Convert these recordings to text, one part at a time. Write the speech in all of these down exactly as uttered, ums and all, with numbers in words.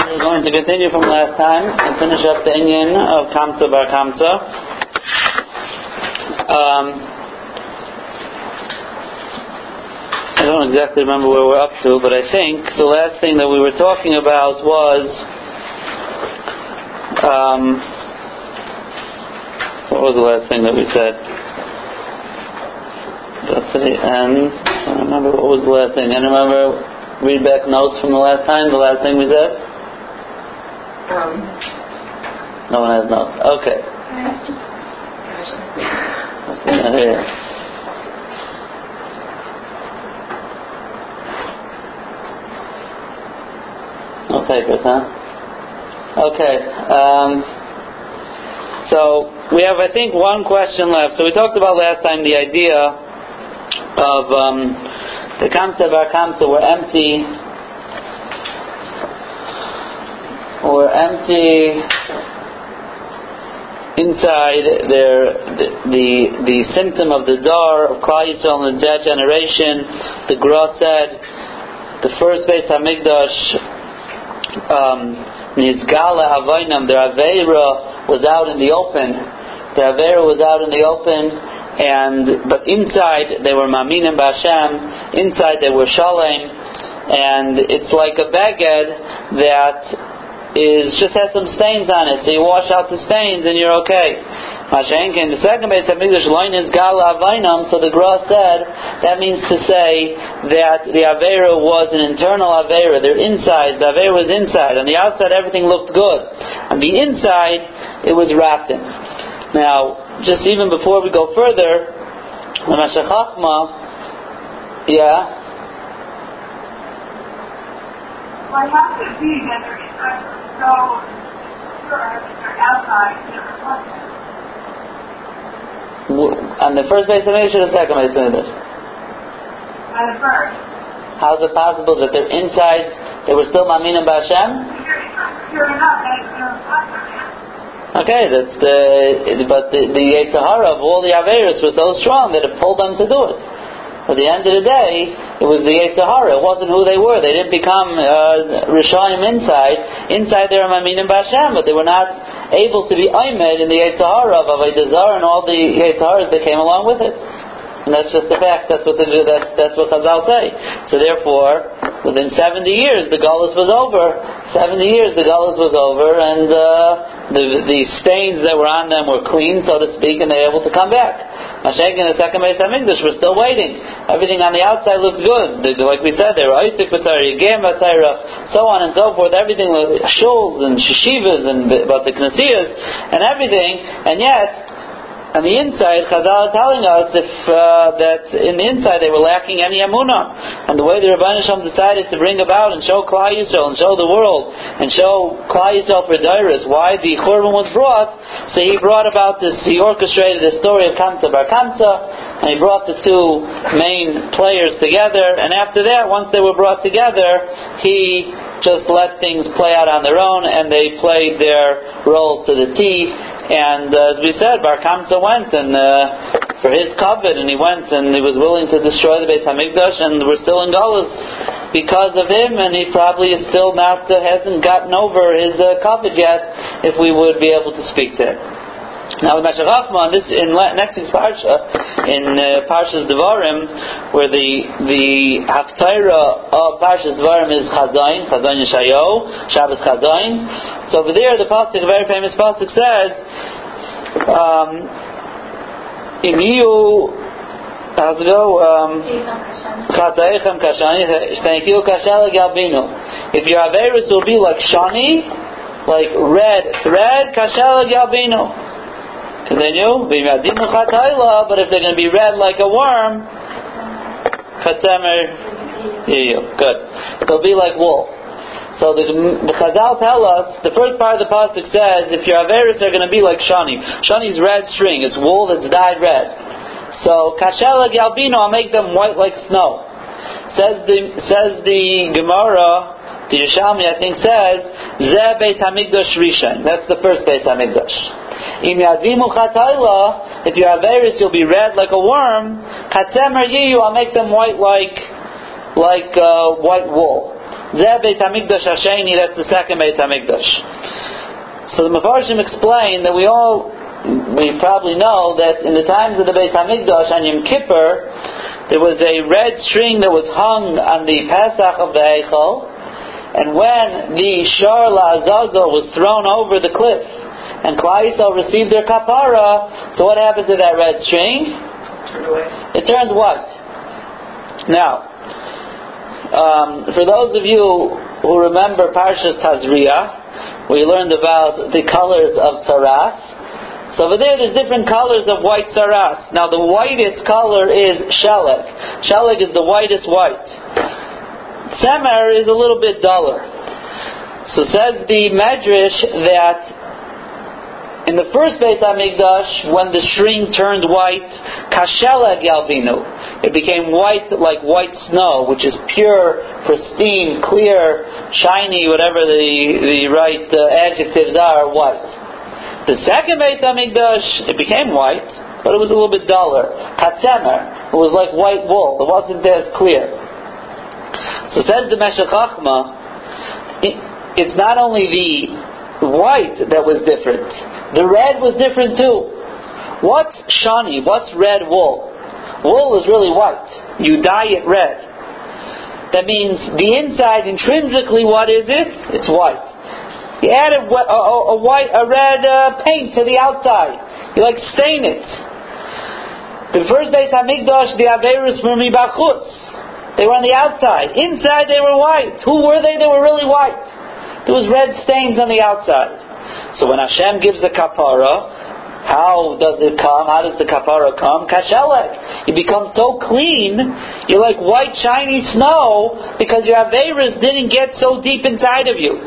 We're going to continue from last time and finish up the inyan of Kamsa Bar Kamsa. Um, I don't exactly remember where we're up to, but I think the last thing that we were talking about was um, what was the last thing that we said? That's at the end. I don't remember what was the last thing. I remember read back notes from the last time. The last thing we said. Um, no one has notes. Okay. Here. No papers, huh? Okay. Um, so we have, I think, one question left. So we talked about last time the idea of um, the Kamsa Bar Kamsa were empty. Or empty inside their the, the the symptom of the dar of Klal Yisrael in that generation. The Gra said the first Beis Hamikdash Nizgala um, Avainam, their Aveira was out in the open. Their Aveira was out in the open, and but inside they were Maminim B'Hashem. Inside they were Shalem, and it's like a baged that is just has some stains on it, so you wash out the stains and you're okay. Mashenkin, the second Beis Hamikdash loin is Gala Avainam, so the Gra said that means to say that the Aveira was an internal Aveira. Their inside, the Aveira was inside. On the outside, everything looked good. On the inside, it was rotten. Now, just even before we go further, the Mashech Chachma, yeah. Well, it has to be that they're inside, so sure, they're outside, they're reflected. On the first Beis Hamikdash or the second Beis Hamikdash? On the first. How is it possible that they're inside, they were still Maminim B'Hashem? Sure enough, they're reflected. Okay, that's the, but the, the Yetzer Hara of all the Averis was so strong that it pulled them to do it. At the end of the day, it was the Yetzer Hara. It wasn't who they were. They didn't become uh, Rishayim inside. Inside they were Maminim B'Hashem, but they were not able to be Aymed in the Yetzer Hara of Avodah Zarah and all the Yetzer Haras that came along with it. And that's just the fact. That's what the, that's, that's what Chazal say. So therefore, within seventy years, the Galus was over. Seventy years, the Galus was over, and uh, the the stains that were on them were clean, so to speak, and they were able to come back. Mashiach and the second Beis Hamikdash were still waiting. Everything on the outside looked good. They, like we said, they were Isaac B'Tzara, Yegem B'Tzara, so on and so forth. Everything was shuls and shishivas and but the knasiyas and everything, and yet. On the inside, Chazal is telling us if uh, that in the inside they were lacking any emunah, and the way the Rebbeinu Shalom decided to bring about and show Klal Yisrael and show the world and show Klal Yisrael for Dairis why the Churban was brought, so he brought about this. He orchestrated the story of Kamsa Bar Kamsa, and he brought the two main players together. And after that, once they were brought together, he just let things play out on their own, and they played their role to the T. And uh, as we said, Bar Kamsa went and uh, for his covet, and he went and he was willing to destroy the Beis Hamikdash, and we're still in Galus because of him, and he probably is still not uh, hasn't gotten over his uh, covet yet. If we would be able to speak to him. Now, with Mashech Chachma, this in next week's parsha, in uh, Parshas Devarim, where the the haftarah of Parshas Devarim is Chazayin, Chazayin Yeshayahu, Shabbos Chazayin. So over there, the pasuk, a very famous pasuk, says, um, "Im yiyu, how's it go? Chataechem kashani, shtanikiu kashal galbinu." If your averis will be like shani, like red thread, kashal galbinu. Continue. But if they're going to be red like a worm, Chatzemer, good. They'll be like wool. So the, the Chazal tell us, the first part of the pasuk says, if your averis are going to be like shani. Shani's red string. It's wool that's dyed red. So Kashela Galbino, I'll make them white like snow. Says the says the Gemara. The Yerushalmi, I think, says, Zeh Beis Hamikdash Rishon. That's the first Beis Hamikdash. Im Yadimu Chatayla, if you have Averis, you'll be red like a worm. Chatzemer Yiyu, I'll make them white like like uh, white wool. Zeh Beit HaMikdash Hasheni, that's the second Beit HaMikdash. So the Mefarshim explain that we all, we probably know that in the times of the Beit HaMikdash on Yom Kippur, there was a red string that was hung on the Pesach of the Eichel, and when the Shar La'azazel was thrown over the cliff, and Klal Yisrael received their kapara, so what happened to that red string? It turns white. Now, um, for those of you who remember Parshas Tazria, we learned about the colors of tzaras. So over there, there's different colors of white tzaras. Now, the whitest color is sheleg. Sheleg is the whitest white. Tzemer is a little bit duller. So says the Medrash that in the first Beit HaMikdash, when the string turned white, kasheleg yalvinu, it became white like white snow, which is pure, pristine, clear, shiny, whatever the the right uh, adjectives are, white. The second Beit HaMikdash, it became white, but it was a little bit duller. Katzemer, it was like white wool. It wasn't as clear. So says the Meshech Chochmah, it, it's not only the white that was different. The red was different too. What's shani? What's red wool? Wool is really white. You dye it red. That means the inside, intrinsically, what is it? It's white. You add a, a, a white, a red uh, paint to the outside. You like stain it. The first Beit HaMikdash, the Aveirus were mibachutz. They were on the outside. Inside they were white. Who were they? They were really white. There was red stains on the outside. So when Hashem gives the kapara, how does it come? How does the kapara come? Kashelek. You become so clean, you're like white shiny snow, because your Aveirus didn't get so deep inside of you.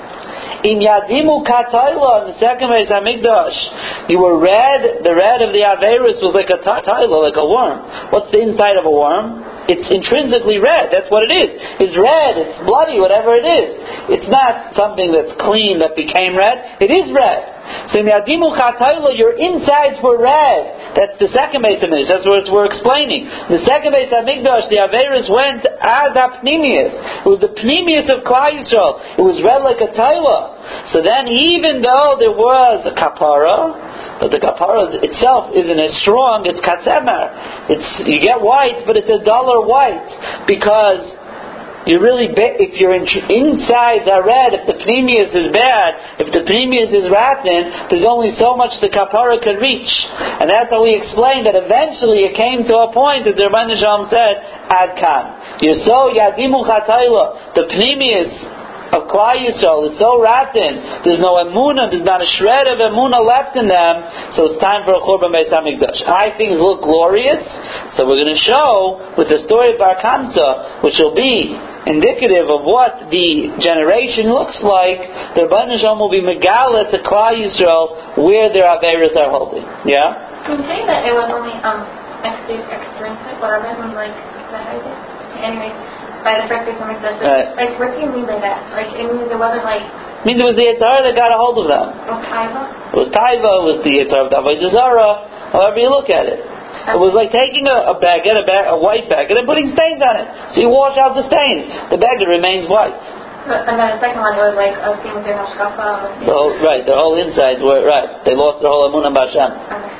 In Yadimu Katayla, in the second Beit HaMikdash, you were red, the red of the Aveirus was like a Tayla, like a worm. What's the inside of a worm? It's intrinsically red. That's what it is. It's red, it's bloody, whatever it is. It's not something that's clean that became red. It is red. So in Yadimu Chatayla, your insides were red. That's the second Beit HaMikdash. That's what we're explaining. The second Beit HaMikdash, the Aveirus went as a Pnimius. It was the Pnimius of Klal Yisrael. It was red like a Tayla. So then, even though there was a kapara, but the kapara itself isn't as strong, it's katzemer. It's, you get white, but it's a duller white, because you really, be, if your in, insides are red, if the pneumius is bad, if the pneumius is rotten, there's only so much the kapara could reach. And that's how we explained that eventually it came to a point that the Rebbeinu Shalom said, Ad Kan. You're so yadimu chatayla, the pneumius of Klal Yisrael is so rotten, there's no emunah, there's not a shred of emunah left in them, so it's time for a Churban Beis HaMikdash. I things look glorious, so we're going to show with the story of Bar Kamsa, which will be indicative of what the generation looks like, the Rebbeinu Shalom will be megala to Klal Yisrael where their Aveirus are holding. Yeah? Can you say that it was only um, extrinsic, whatever, like, is that how you say it? Anyways, by the first Beit HaMikdash. Right. Like, what do you mean by that? Like, it means it wasn't like... It means it was the Yetzer Hara that got a hold of them. Oh, Taiva? It was Taiva, it was the Yetzer Hara, the Avodah Zarah, however you look at it. Okay. It was like taking a, a baguette, a, bag, a white baguette, and putting stains on it. So you wash out the stains. The baguette remains white. And then the second one was like a thing with their hashkafa. The whole, right, their whole insides were, right. They lost their whole emunah b'Hashem. Okay.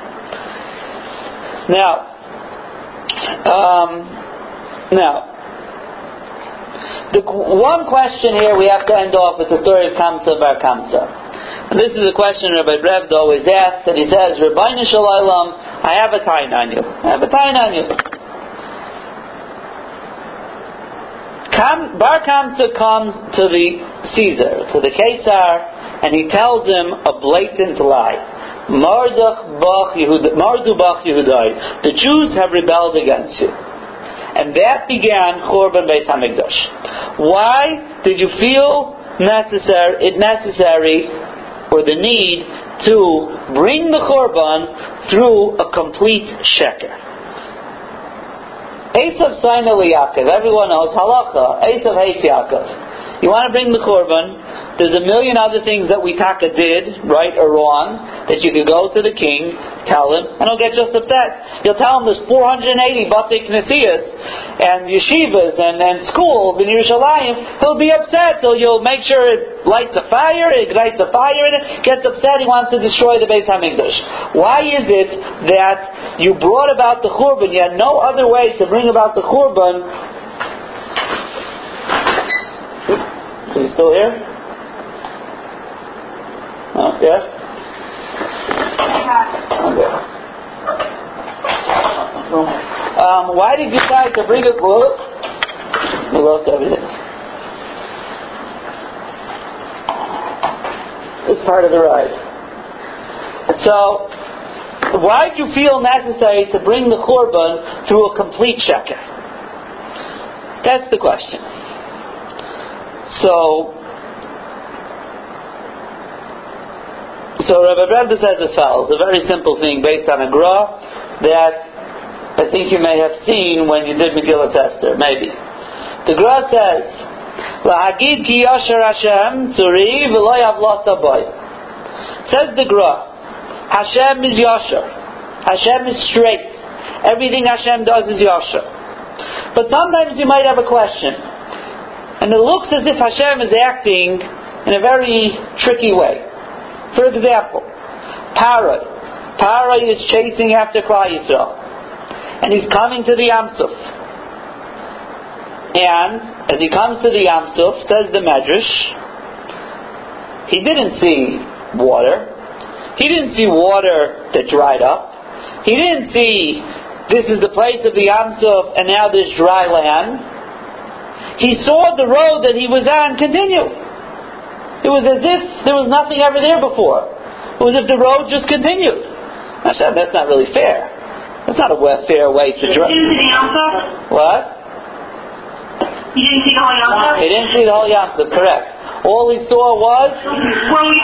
Now, um, now, the one question here we have to end off with the story of Kamsa Bar Kamsa. And this is a question Rabbi Brevda always asks, and he says, Rebbeinu Shalom, I have a tain on you. I have a tain on you. Kam, Bar Kamsa comes to the Caesar, to the Caesar, and he tells him a blatant lie. Mardu bach Yehudai. The Jews have rebelled against you. And that began Churban Beis HaMikdash. Why did you feel necessary, it necessary, or the need to bring the Churban through a complete sheker? Esav Saina Yaakov. Everyone knows halacha. Esav hates Yaakov. You want to bring the Korban. There's a million other things that we taka did, right or wrong, that you could go to the king, tell him, and he'll get just upset. You'll tell him there's four hundred eighty Batei Knesias and yeshivas and, and schools in Yerushalayim. He'll be upset, so you'll make sure it lights a fire, it lights a fire in it, gets upset, he wants to destroy the Beis HaMikdash. Why is it that you brought about the Churban, you had no other way to bring about the Churban? Are you still here? Oh, yeah? Okay. Um, why did you decide to bring a book? We lost everything. It's part of the ride. So, why did you feel necessary to bring the Churban through a complete sheker? That's the question. So, So Rabbi Rebbe says as follows, a very simple thing based on a gra that I think you may have seen when you did Megillat Esther, maybe. The gra says, "Lahagid ki yasher Hashem tzuri v'lo yavlata boy." Says the gra, Hashem is yasher. Hashem is straight. Everything Hashem does is yasher. But sometimes you might have a question, and it looks as if Hashem is acting in a very tricky way. For example, Paroi. Paroi is chasing after Klal Yisrael. And he's coming to the Yam Suf. And as he comes to the Yam Suf, says the Medrash, he didn't see water. He didn't see water that dried up. He didn't see this is the place of the Yam Suf and now there's dry land. He saw the road that he was on continue. It was as if there was nothing ever there before. It was as if the road just continued. I said, that's not really fair. That's not a fair way to drive. You didn't see the Yam Suf? What? You didn't see the whole Yam Suf? He didn't see the whole Yam Suf, correct. All he saw was... When we,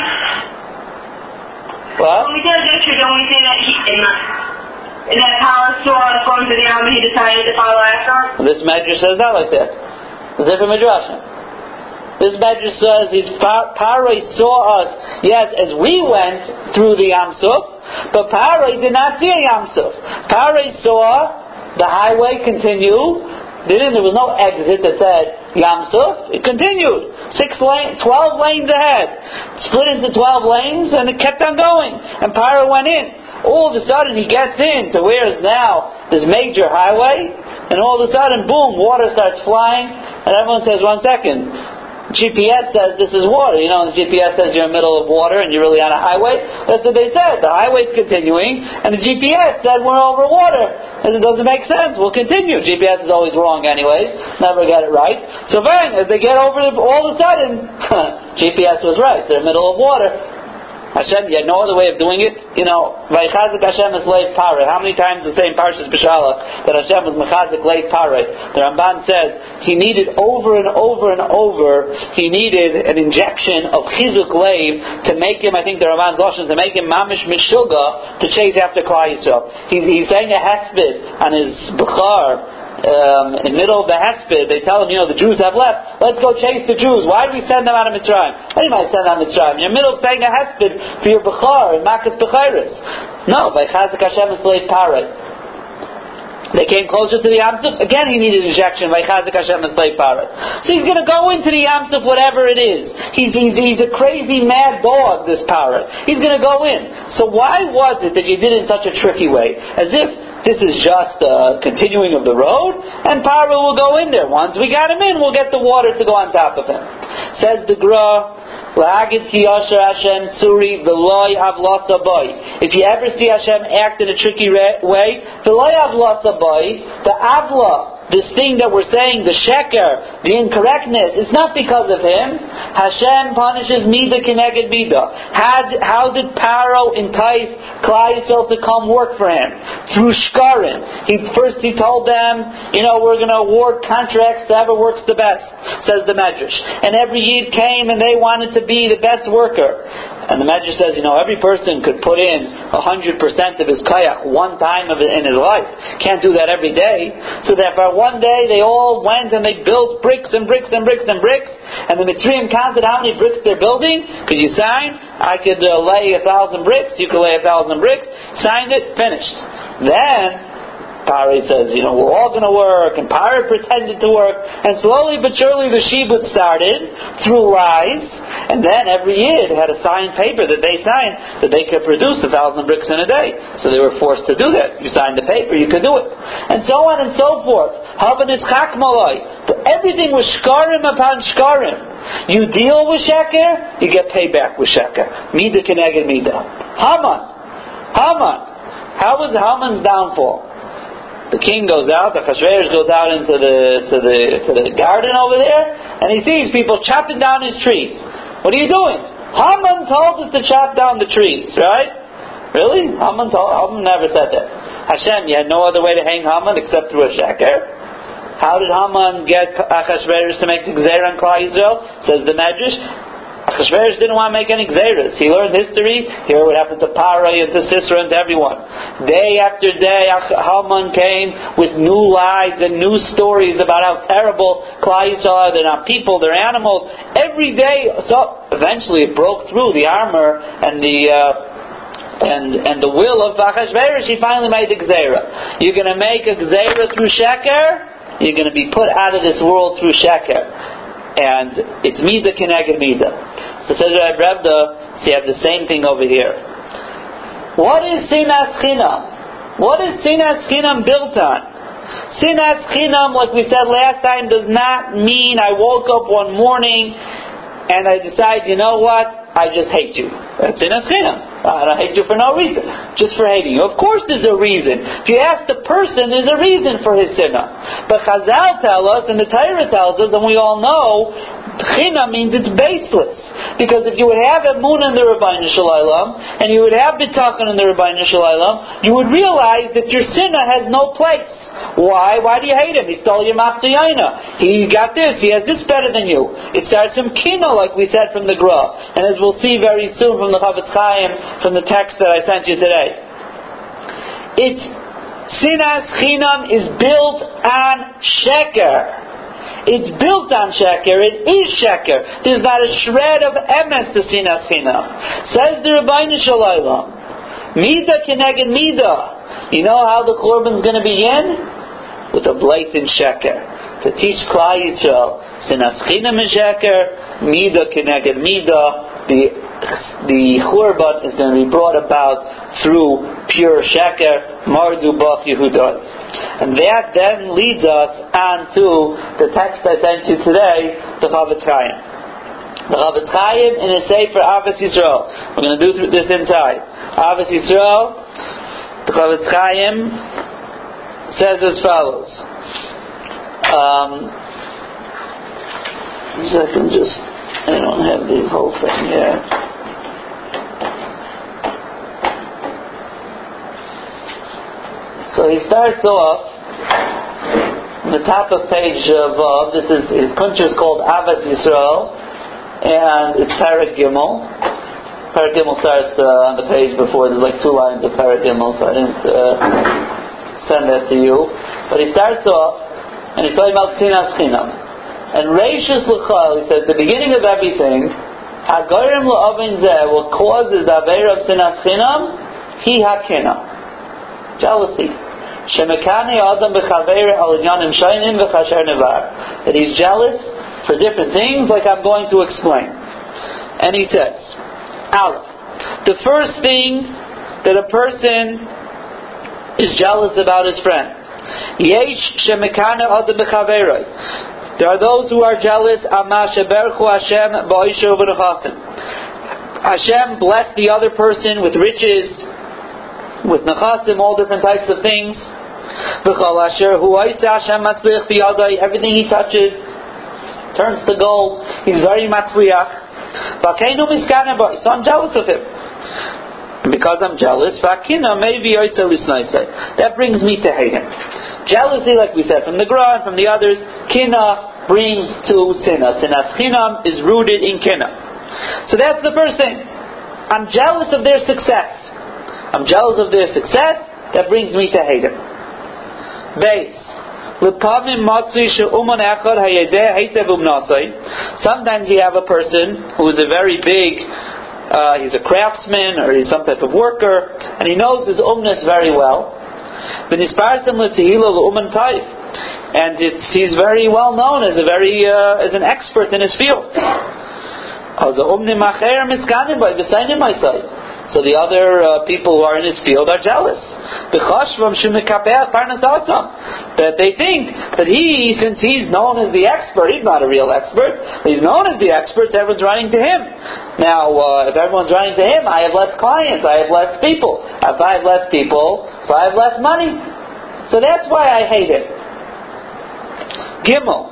what? when we did yesterday, don't we say that he, in that, in that palace saw us going to the Yam and he decided to follow after? This Medrash says not like that. It's a different Midrash. This Medrash says his Paroi saw us, yes, as we went through the Yam Suf, but Paroi did not see a Yam Suf. Paroi saw the highway continue. There was no exit that said Yam Suf. It continued. Six lane, twelve lanes ahead. Split into twelve lanes, and it kept on going. And Paroi went in. All of a sudden he gets in to where is now this major highway, and all of a sudden, boom, water starts flying, and everyone says, one second. G P S says this is water. You know, the G P S says you're in the middle of water and you're really on a highway. That's what they said. The highway's continuing, and the G P S said we're over water. And it doesn't make sense. We'll continue. G P S is always wrong anyways. Never get it right. So then, as they get over, the, all of a sudden, G P S was right. They're in the middle of water. Hashem, you had no other way of doing it. You know, Vayichazik Hashem is Leif Paroi. How many times the same Parshas B'Shalach that Hashem was Mechazik Leif Paroi? The Ramban says he needed over and over and over. He needed an injection of Chizuk Leif to make him. I think the Ramban's Lashon to make him Mamish Mishuga to chase after Klal Yisrael. He's, he's saying a hesped on his Bukhar. Um, in the middle of the Hesped, they tell him, you know, the Jews have left. Let's go chase the Jews. Why do we send them out of Mitzrayim? Why do you might send them out of Mitzrayim? You're in the middle of saying a Hesped for your Bechar and Makas Bechairis. No, by Chazik Hashem is Leif Paroi. They came closer to the Yam Suf. Again, he needed injection by Chazik Hashem is Leif Paroi. So he's going to go into the Yam Suf, whatever it is. He's, he's, he's a crazy mad dog, this Paroi. He's going to go in. So why was it that you did it in such a tricky way? As if this is just a continuing of the road, and Paroi will go in there. Once we got him in, we'll get the water to go on top of him. Says the Gra, L'hagid ki yasher Hashem tzuri v'lo yavlasa boy. If you ever see Hashem act in a tricky way, v'lo yavlasa boy, the avla, this thing that we're saying, the sheker, the incorrectness, it's not because of him. Hashem punishes Mida Keneged Mida. How, how did Paro entice Klal Yisrael to come work for him? Through shkarim. He, first he told them, you know, we're going to award contracts to whoever works the best, says the Medrash. And every Yid came and they wanted to be the best worker. And the Medrash says, you know, every person could put in a hundred percent of his kayak one time of it in his life. Can't do that every day. So therefore, one day they all went and they built bricks and bricks and bricks and bricks. And the Mitzrayim counted how many bricks they're building. Could you sign? I could uh, lay a thousand bricks. You could lay a thousand bricks. Signed it. Finished. Then Paro says, you know, we're all going to work, and Paro pretended to work, and slowly but surely the shibud started through lies, and then every year they had a signed paper that they signed that they could produce a thousand bricks in a day. So they were forced to do that. You signed the paper, you could do it, and so on and so forth. Havan is chakmalai. Everything was shkarim upon shkarim. You deal with sheker, you get payback with sheker. Mida keneged mida. Haman, Haman. How was Haman's downfall? The king goes out, the Achashverosh goes out into the to the to the garden over there, and he sees people chopping down his trees. What are you doing? Haman told us to chop down the trees, right? Really? Haman told Haman never said that. Hashem, you had no other way to hang Haman except through a sheker. How did Haman get Achashverosh to make the gzeira on Klal Yisrael? Says the Medrash, Achashverosh didn't want to make any gzeiras. He learned history. Here what happened to Paro and to Sisera and to everyone. Day after day, Haman came with new lies and new stories about how terrible Klal Yisrael are. They're not people, they're animals. Every day, so eventually it broke through the armor and the uh, and and the will of Achashverosh. He finally made the gzeira. You're going to make a gzeira through sheker. You're going to be put out of this world through sheker. And it's Mida Keneged Mida. So says Reb Revda, so you have the same thing over here. What is Sinas Chinam? What is Sinas Chinam built on? Sinas Chinam, like we said last time, does not mean I woke up one morning and I decide, you know what, I just hate you. That's Sinas Chinam. I don't hate you for no reason, just for hating you. Of course there's a reason. If you ask the person, there's a reason for his sinah. But Chazal tell us, and the Torah tells us, and we all know, China means it's baseless. Because if you would have Emunah in the Rabbeinu Shalom, and you would have B'tachon in the Rabbeinu Shalom, you would realize that your sinah has no place. Why? Why do you hate him? He stole your Maftayaina. He got this. He has this better than you. It starts from Kino, like we said from the Gra. And as we'll see very soon from the Chavetz Chaim, from the text that I sent you today. It's Sinas Chinam is built on Sheker. It's built on Sheker. It is Sheker. There's not a shred of emes to Sinas Chinam. Says the Rabbeinu Shalom, Mida Keneged Mida. You know how the Korban's going to begin? With a blatant Sheker. To teach Klal Yisrael, Sinas Chinam is Sheker, Mida Keneged Mida. The the Churban is going to be brought about through pure Sheker, Mardu Bach Yehudai. And that then leads us on to the text I sent you today, the Chavetz Chaim. The Chavetz Chaim in a Sefer Avos Yisrael. We're going to do this inside. Avos Yisrael, the Chavetz Chaim says as follows. Um, so I can just, I don't have the whole thing here. So he starts off on the top of page uh, Vav. This is his kuncha is called Avos Yisrael, and it's Perek Gimel. Perek Gimel starts uh, on the page before. There's like two lines of Perek Gimel, so I didn't uh, send that to you. But he starts off, and he's talking about Sinas Chinam. And Reishus L'chal, he says, the beginning of everything, Hagorim L'Ovin Zeh, what causes the Aveira of Sinas Chinam, Hi HaKinah. Jealousy. Shemekane Adam B'Chaveir Al Inyanim Shaynim V'Chasher Nevar. That he's jealous for different things, like I'm going to explain. And he says, Aleph, the first thing that a person is jealous about his friend. Yesh Shemekane Adam B'Chaveir. There are those who are jealous. Ama Sheberchu Hashem Ba'isher V'Nechasim. Hashem blessed the other person with riches, with nechasim, all different types of things. Everything he touches turns to gold. He's very matzliach. So I'm jealous of him. And because I'm jealous, that brings me to hate him. Jealousy, like we said from the Gra and from the others, kina brings to sinah. Sinas Chinam is rooted in kina. So that's the first thing. I'm jealous of their success. I'm jealous of their success. That brings me to hate him. Base. Sometimes you have a person who is a very big, uh, he's a craftsman or he's some type of worker, and he knows his umnus very well. And it's, he's very well known as a very uh, as an expert in his field. So the other uh, people who are in his field are jealous. That they think that he, since he's known as the expert, he's not a real expert, but he's known as the expert, so everyone's running to him. Now, uh, if everyone's running to him, I have less clients, I have less people. If I have less people, so I have less money. So that's why I hate him. Gimel.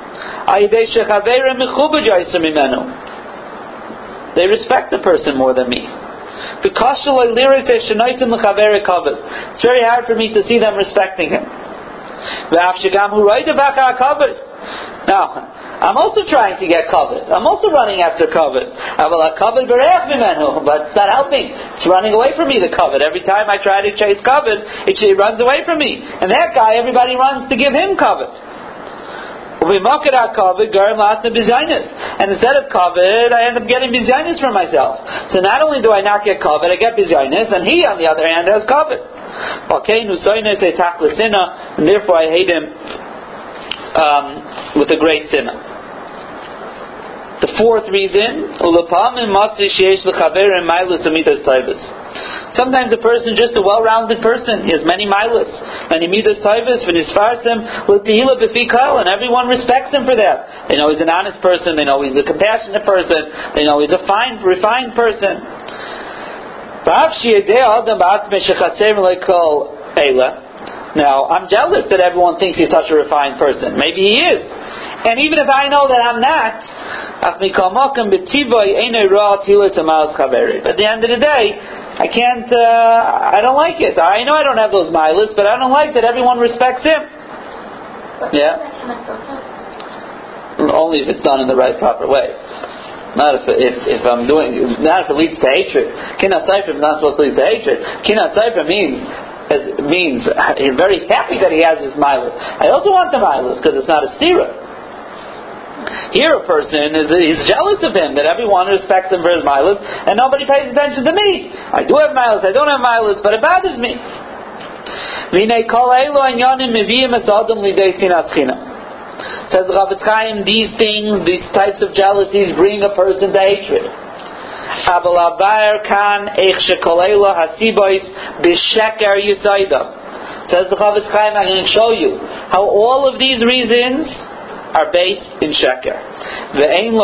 They respect the person more than me. It's very hard for me to see them respecting him. Now, I'm also trying to get covet. I'm also running after covet. But it's not helping. It's running away from me, the covet. Every time I try to chase covet, it runs away from me. And that guy, everybody runs to give him covet. And instead of kavod, I end up getting bizaynis for myself. So not only do I not get kavod, I get bizaynis, and he, on the other hand, has kavod. And therefore I hate him um, with a great sinner. The fourth reason, sometimes a person is just a well-rounded person. He has many milas, many midas taivas, and everyone respects him for that. They know he's an honest person. They know he's a compassionate person. They know he's a fine, refined person. Now, I'm jealous that everyone thinks he's such a refined person. Maybe he is. And even if I know that I'm not, at the end of the day, I can't, uh, I don't like it. I know I don't have those milas, but I don't like that everyone respects him. Yeah? Only if it's done in the right, proper way. Not if, if, if I'm doing, not if it leads to hatred. Kinat Sefer is not supposed to lead to hatred. Kinat Sefer means, it means I'm very happy that he has his milas. I also want the milas because it's not a stira. Here a person is he's jealous of him, that everyone respects him for his milas, and nobody pays attention to me. I do have milas, I don't have milas, but it bothers me. Says the Chafetz Chaim, these things, these types of jealousies bring a person to hatred. Says the Chafetz Chaim, I'm going to show you how all of these reasons are based in sheker. When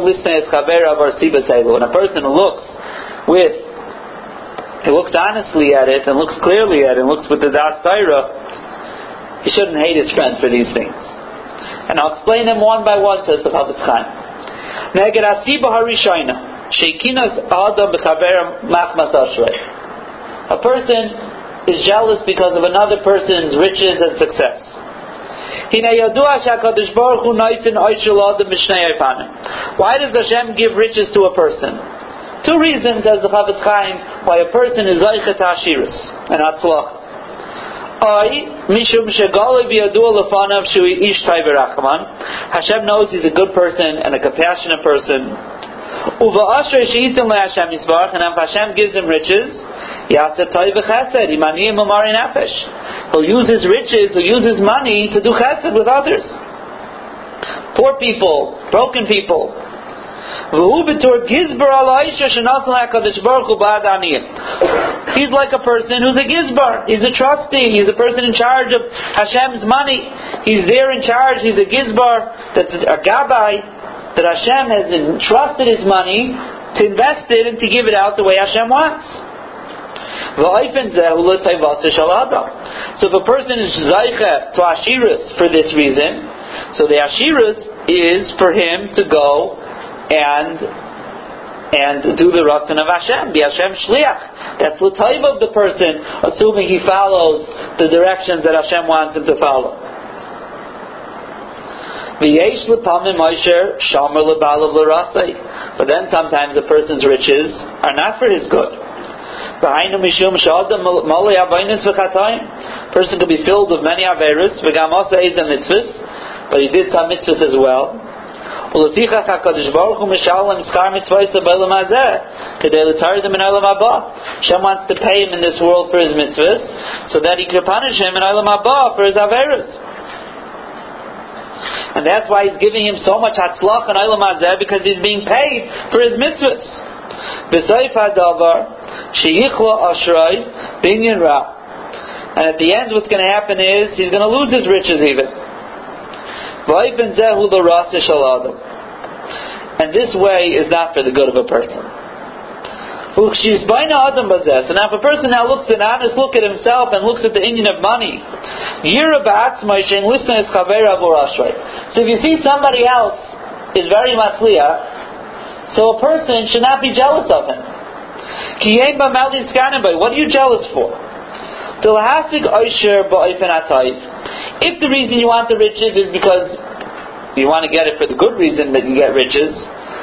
a person looks with, he looks honestly at it and looks clearly at it and looks with the das Torah, he shouldn't hate his friend for these things. And I'll explain them one by one, says the Chafetz Chaim. A person is jealous because of another person's riches and success. Why does Hashem give riches to a person? Two reasons, as the Chafetz Chaim, why a person is Zaychet HaShirus and Atzlach. Hashem knows he's a good person and a compassionate person. And if Hashem gives him riches, he'll use his riches, he'll use his money to do chesed with others. Poor people, broken people. He's like a person who's a gizbar. He's a trustee. He's a person in charge of Hashem's money. He's there in charge. He's a gizbar. That's a gabbai. That Hashem has entrusted his money to invest it and to give it out the way Hashem wants. So if a person is zaycha to Ashirus for this reason, so the Ashirus is for him to go and and do the ratzon of Hashem, be Hashem shliach. That's the type of the person, assuming he follows the directions that Hashem wants him to follow. V'yesh l'pamim Moshe shomer l'balav l'rasei. But then sometimes a person's riches are not for his good. V'hainu mishum sh'adam malei avaynis v'chatayim. Person could be filled with many averos, v'gam asa ezem mitzvahs, but he did some mitzvahs as well. U'lefichach HaKadosh Baruch Hu mishalem skar mitzvahs b'olam hazeh kedei l'taridem in olam haba. Hashem wants to pay him in this world for his mitzvahs, so that he could punish him in olam haba for his averos. And that's why he's giving him so much hatzlach and olam hazeh, because he's being paid for his mitzvahs. V'soif hadavar sheyichla ashrei binyan ra. And at the end, what's going to happen is he's going to lose his riches even. V'oifen zehu l'rasa shel adam. And this way is not for the good of a person. So now if a person now looks at an honest look at himself and looks at the Indian of money, so if you see somebody else is very matzliach, so a person should not be jealous of him. What are you jealous for? If the reason you want the riches is because you want to get it for the good reason that you get riches,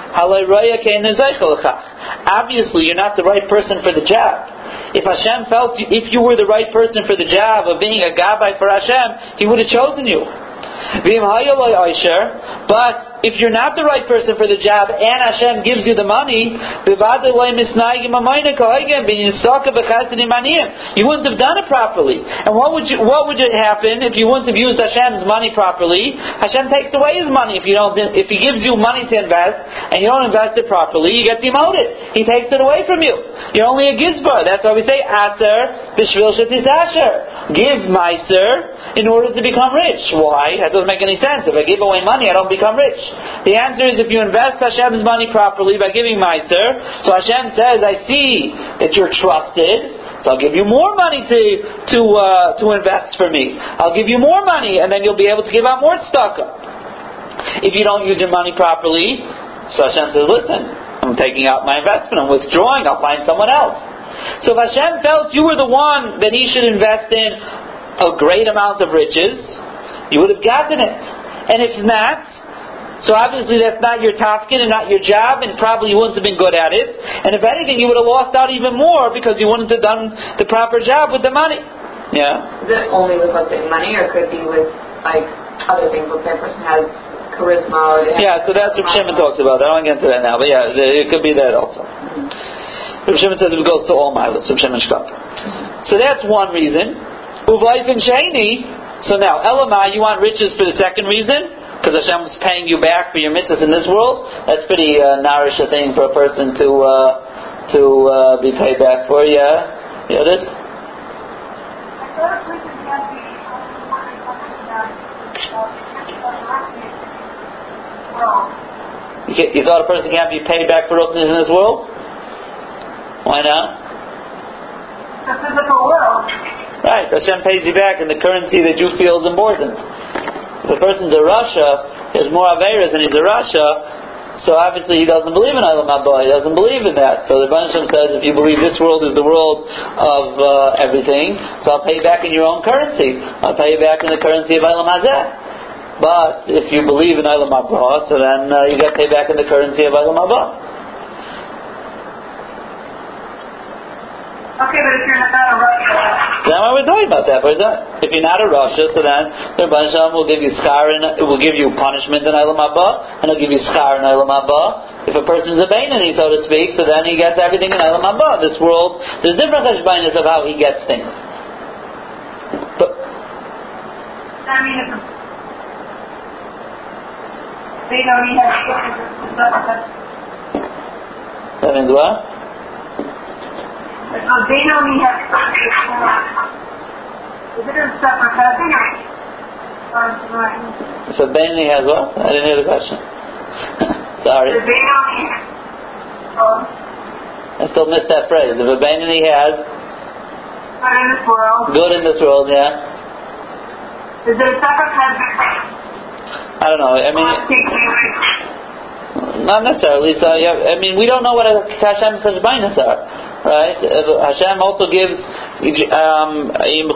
obviously you're not the right person for the job. If Hashem felt you, if you were the right person for the job of being a gabbai for Hashem, He would have chosen you. But if you're not the right person for the job and Hashem gives you the money, you wouldn't have done it properly. And what would you, what would happen if you wouldn't have used Hashem's money properly? Hashem takes away His money if you don't. If He gives you money to invest and you don't invest it properly, you get demoted. He takes it away from you. You're only a gizbar. That's why we say Aser b'shvil shetisasher. Give meiser in order to become rich. Why? That doesn't make any sense. If I give away money, I don't become rich. The answer is if you invest Hashem's money properly by giving meiser, so Hashem says, I see that you're trusted, so I'll give you more money to to uh, to invest for me. I'll give you more money, and then you'll be able to give out more tzedakah. If you don't use your money properly, so Hashem says, listen, I'm taking out my investment, I'm withdrawing, I'll find someone else. So if Hashem felt you were the one that He should invest in a great amount of riches, you would have gotten it. And if not, so obviously that's not your tafkid and not your job, and probably you wouldn't have been good at it. And if anything, you would have lost out even more because you wouldn't have done the proper job with the money. Yeah. Is it only with, let's say, money, or could it be with, like, other things? Let's say a person has charisma. Or yeah, so that's what Shimon talks about. I don't get into that now, but yeah, it could be that also. Mm-hmm. Shimon says it goes to all milas, so Shimon Shkap. Mm-hmm. So that's one reason. Uvayfin Shani. So now, Elamai, you want riches for the second reason? Because Hashem is paying you back for your mitzvahs in this world? That's pretty uh, nourish a thing for a person to uh, to uh, be paid back for, yeah? You know this? You, can't, you thought a person can't be paid back for ruchnius in this world? Why not? The physical world. Right, Hashem pays you back in the currency that you feel is important. If a person's a Rasha, he has more Averas and he's a Rasha, so obviously he doesn't believe in Olam Haba, he doesn't believe in that. So the Rebbeinu Shem says, if you believe this world is the world of uh, everything, so I'll pay you back in your own currency. I'll pay you back in the currency of Olam Hazeh. But if you believe in Olam Haba, so then uh, you get paid back in the currency of Olam Haba. Okay, but if you're not a Rasha, then why we're talking about that? If you're not a Rasha, so then the Rebbeinu Shem will give you schar and it will give you punishment in Olam Haba, and it'll give you schar in Olam Haba. If a person's a Beinani, so to speak, so then he gets everything in Olam Haba. This world, there's different cheshbonos of how he gets things. But I mean, if they don't even have that means what? So they don't even have is it a separate cousin or so Beinani has what? I didn't hear the question. Sorry. The Beinani oh. I still missed that phrase. If a Beinani has good in this world. Good in this world, yeah. Is it a separate cousin? I don't know. I mean, not necessarily. So yeah, I mean, we don't know what Hashem's cheshbonos are. right? Hashem also gives, um,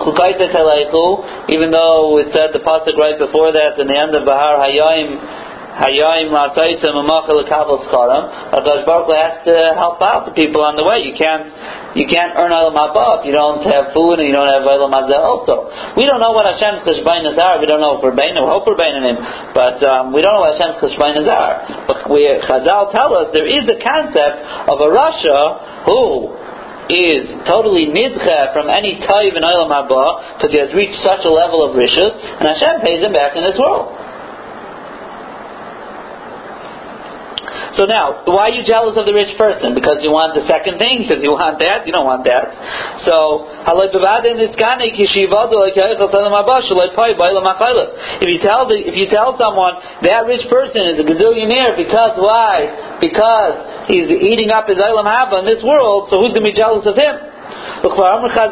even though it said the pasuk right before that in the end of Bahar Hayayim, Hayayim La'asaisim Amachel Kabel Skaram. Hakadosh Baruch Hu has to help out the people on the way. You can't, you can't earn Olam Haba if you don't have food and you don't have Olam Hazeh also. We don't know what Hashem's Kashbainahs are. We don't know if we're Bainim. We hope we're Bainim, but um, we don't know what Hashem's Kashbainahs are. But we, Chazal tell us there is a concept of a Rasha who is totally nidcha from any taiv in Olam Haba because he has reached such a level of rishus, and Hashem pays him back in this world. So now, why are you jealous of the rich person? Because you want the second thing? Because you want that? You don't want that. So, if you tell the, if you tell someone that rich person is a gazillionaire because why? Because he's eating up his Olam Haba in this world, so who's going to be jealous of him? So for reason number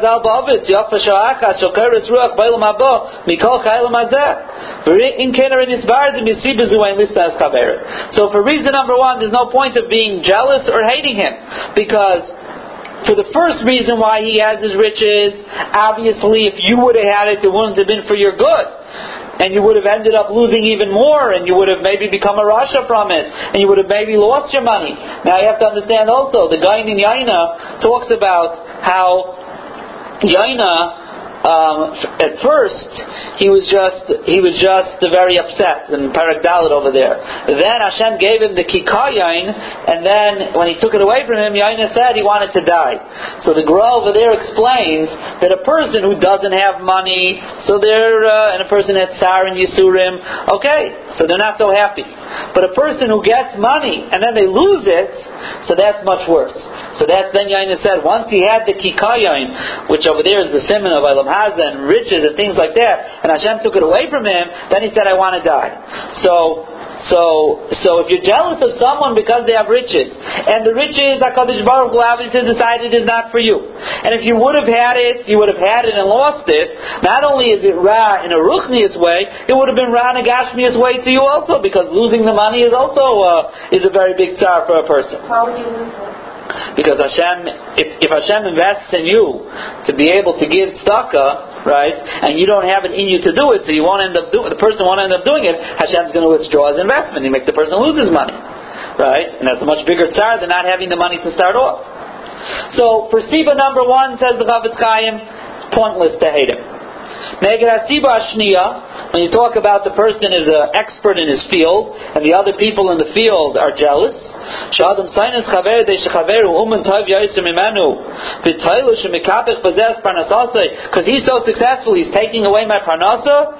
one, there's no point of being jealous or hating him, because for the first reason why he has his riches, obviously if you would have had it, it wouldn't have been for your good. And you would have ended up losing even more, and you would have maybe become a rasha from it, and you would have maybe lost your money. Now you have to understand also, the guy in Yaina talks about how Yaina, um, at first he was just he was just very upset in Parak Dalet over there. Then Hashem gave him the kikar yain, and then when he took it away from him, Yaina said he wanted to die. So the Gra over there explains that a person who doesn't have money, so they're uh, and a person that's Tsar and Yisurim, okay, so they're not so happy. But a person who gets money and then they lose it, so that's much worse. So that's then Yaina said, once he had the kikar yain, which over there is the simon of Olam Hazeh and riches and things like that, and Hashem took it away from him, then he said, I want to die. So, so, so if you're jealous of someone because they have riches, and the riches HaKadosh Baruch Hu obviously decided is not for you, and if you would have had it, you would have had it and lost it, not only is it ra in a ruchnius way, it would have been ra in a gashmius way to you also, because losing the money is also uh, is a very big tsar for a person. How would you lose it? Because Hashem, if, if Hashem invests in you to be able to give tzedakah, right, and you don't have it in you to do it, so you won't end up doing, the person won't end up doing it, Hashem's going to withdraw his investment. He make the person lose his money, right? And that's a much bigger tzar than not having the money to start off. So for Siba number one, says the Chavetz Chaim, pointless to hate him. Neged HaSiba Ashniya, when you talk about the person is an expert in his field, and the other people in the field are jealous, because he's so successful, he's taking away my parnasa.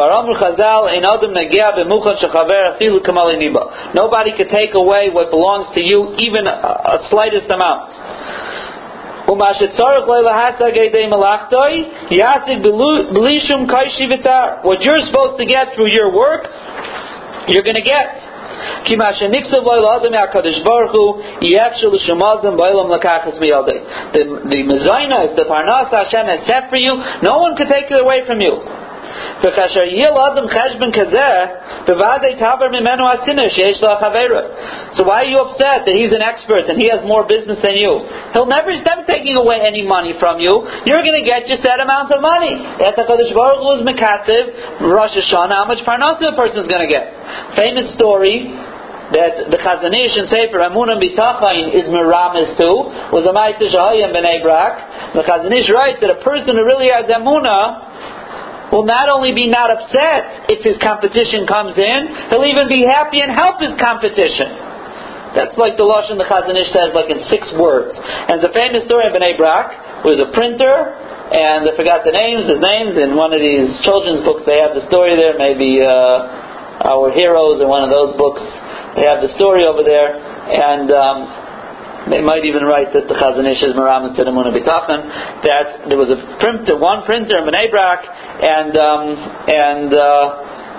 Nobody could take away what belongs to you, even a, a slightest amount. What you're supposed to get through your work, you're going to get. The, the mezainas, the parnas Hashem has set for you, no one can take it away from you. So why are you upset that he's an expert and he has more business than you? He'll never stop taking away any money from you. You're going to get your set amount of money. That's HaKadosh Baruch Hu is mekatziv, Rosh Hashanah, how much parnasa a person is going to get. Famous story that the Chazon Ish in Sefer Emunah B'Tachon is meramis to was a Ma'aseh Shahayim B'nei Brak. The Chazon Ish writes that a person who really has Emunah will not only be not upset if his competition comes in, he'll even be happy and help his competition. That's like the Lashon the Chazon Ish says, like in six words. And it's a famous story of B'nei Brak, who was a printer, and I forgot the names, his names, in one of these children's books they have the story there, maybe uh, Our Heroes in one of those books, they have the story over there, and um, they might even write that the Chazon Ish is meramis to the Emunah B'Tachon, that there was a printer, one printer in Bnei Brak, and um, and uh,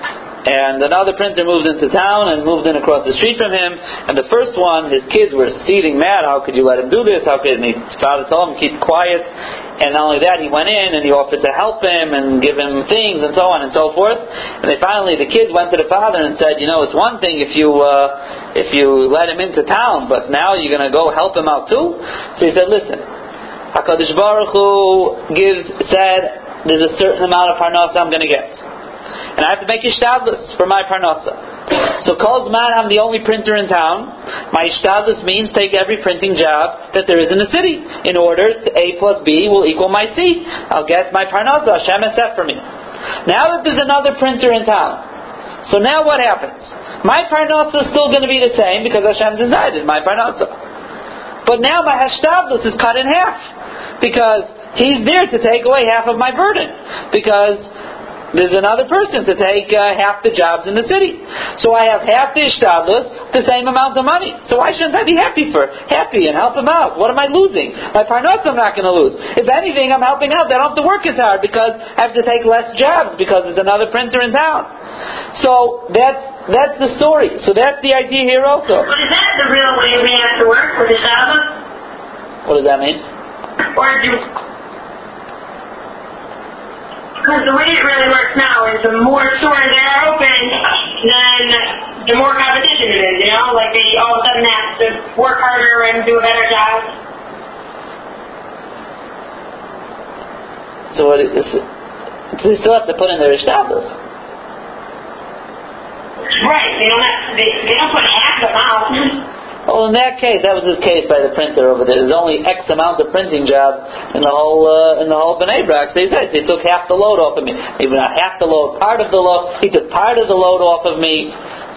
And another printer moved into town and moved in across the street from him. And the first one, his kids were seething mad. How could you let him do this? How could his father told him keep quiet? And not only that, he went in and he offered to help him and give him things and so on and so forth. And they finally, the kids went to the father and said, you know, it's one thing if you uh, if you let him into town, but now you're going to go help him out too. So he said, listen, HaKadosh Baruch Hu gives said there's a certain amount of parnasa I'm going to get. And I have to make ishtadlus for my parnasa. So Kol Zman I'm the only printer in town. My ishtadlus means take every printing job that there is in the city. In order to A plus B will equal my C. I'll get my parnasa. Hashem has set for me. Now that there's another printer in town, so now what happens? My parnasa is still going to be the same because Hashem decided my parnasa. But now my hashtadlus is cut in half because he's there to take away half of my burden. Because there's another person to take uh, half the jobs in the city. So I have half the ishtadlus, the same amount of money. So why shouldn't I be happy for happy and help him out? What am I losing? My parnasa I'm not going to lose. If anything, I'm helping out. I don't have to work as hard because I have to take less jobs because there's another printer in town. So that's that's the story. So that's the idea here also. But is that the real way we have to work with the Shabbat? What does that mean? Or do... Because the way it really works now is the more stores that are open, then the more competition it is, you know? Like they all of a sudden have to work harder and do a better job. So what is it? They still have to put in their ishtadlus. Right, they don't have, they, they don't put half the amount. Well, in that case, that was his case by the printer over there. There's only X amount of printing jobs in the whole uh, in the whole Bnei Brak. So he said he took half the load off of me. Maybe not half the load, part of the load. He took part of the load off of me.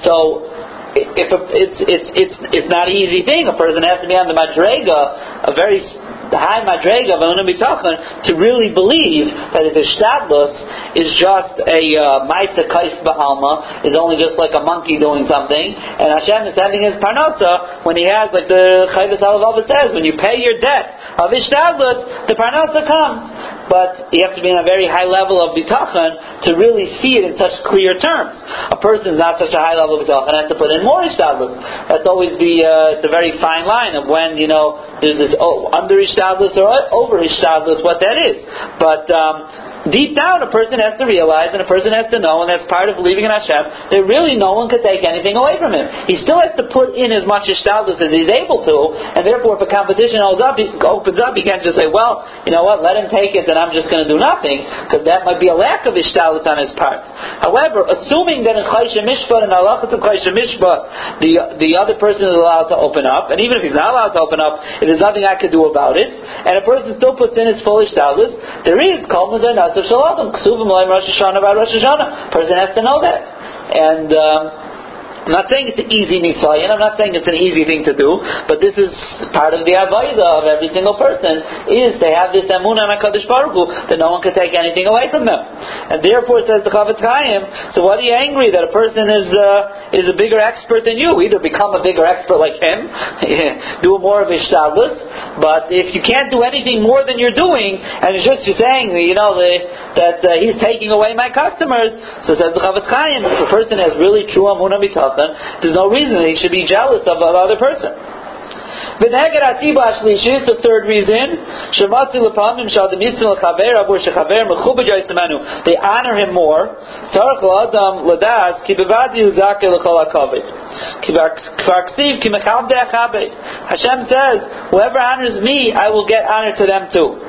So if a, it's it's it's it's not an easy thing. A person has to be on the madrega, a very high madrega of Emunah B'Tachon, to really believe that his ishtadlus is just a ma'isa kaif b'alma, is only just like a monkey doing something, and Hashem is having his parnasa when he has, like the Chayvus Alavava says, when you pay your debt of ishtadlus, the parnasa comes. But you have to be on a very high level of bitachon to really see it in such clear terms. A person is not such a high level of bitachon has to put in more ishtadlus. That's always the uh, it's a very fine line of when, you know, there's this oh, under ishtadlus or over ishtadlus, what that is. But um, deep down, a person has to realize and a person has to know, and that's part of believing in Hashem, that really no one could take anything away from him. He still has to put in as much ishtadlus as he's able to, and therefore if a competition opens up, he opens up, he can't just say, well, you know what, let him take it, then I'm just going to do nothing, because that might be a lack of ishtadlus on his part. However, assuming that in Chayshah Mishpat and halachas of Chayshah Mishpat, the the other person is allowed to open up, and even if he's not allowed to open up, if there's nothing I could do about it, and a person still puts in his full ishtadlus, there is kol mazeh nasav shalom, ksuvim l'hem Rosh Hashanah about Rosh Hashanah. Person has to know that, and. Um, I'm not saying it's an easy nisayon, I'm not saying it's an easy thing to do, but this is part of the avodah of every single person, is to have this emunah on HaKadosh Baruch Hu, that no one can take anything away from them. And therefore, says the Chavetz Chaim, so what are you angry that a person is uh, is a bigger expert than you? Either become a bigger expert like him, do more of ishtadlus, but if you can't do anything more than you're doing, and it's just you're saying, you know, the, that uh, he's taking away my customers, so says the Chavetz Chaim, if a person has really true emunah b'tachon, there's no reason that he should be jealous of the other person. The third reason, they honor him more. Hashem says, whoever honors me, I will get honor to them too.